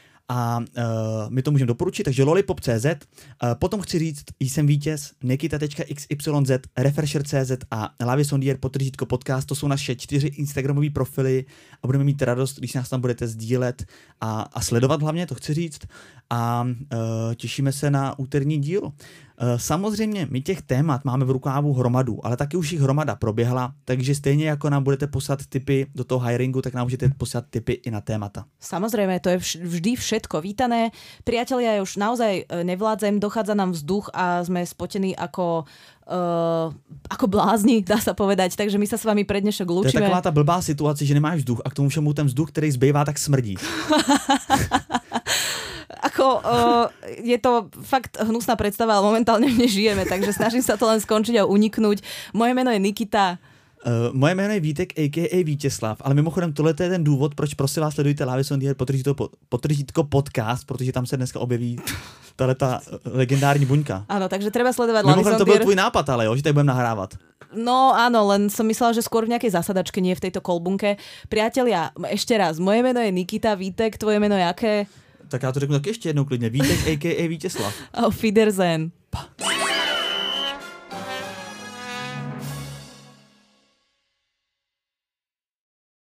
A uh, my to můžeme doporučit, takže lollipop tečka cé zet. Uh, potom chci říct, jsem vítěz, nikita tečka iks ypsilon zet, refresher tečka cé zet a Lavis on the Air podtržítko podcast, to jsou naše čtyři instagramové profily a budeme mít radost, když nás tam budete sdílet a, a sledovat hlavně, to chci říct. A uh, těšíme se na úterní díl. Uh, samozřejmě my těch témat máme v rukávu hromadu, ale taky už jich hromada proběhla, takže stejně jako nám budete poslat tipy do toho hiringu, tak nám můžete poslat tipy i na témata. Samozrejme, to je vždy všetko vítané. Priatelia, ja už naozaj nevládzem, dochádza nám vzduch a sme spotení ako Uh, ako blázni, dá sa povedať, takže my sa s vami pre dnešok lúčime. To je taková tá blbá situácia, že nemáš vzduch a k tomu všemu ten vzduch, ktorý zbývá, tak smrdí. Ako, uh, je to fakt hnusná predstava, ale momentálne v nej žijeme, takže snažím sa to len skončiť a uniknúť. Moje meno je Nikita. Uh, moje jméno je Vítek, a ká a. Vítězslav, ale mimochodem tohle je ten důvod, proč prosím vás sledujte Lavis on the Air podtržítko podcast, protože tam se dneska objeví tato legendární buňka. Áno, takže treba sledovať Lavis on the Air. Mimochodem to byl tvůj nápad, ale jo, že tady budeme nahrávat. No áno, len som myslela, že skôr v nejakej zasadačke, nie v tejto kolbunke. Priatelia, ešte raz, moje meno je Nikita, Vítek, tvoje meno je aké? Tak já to řeknu tak ještě jednou klidně. Vítek, a ká a. Vítězslav. Auf Wiedersehen. Pa.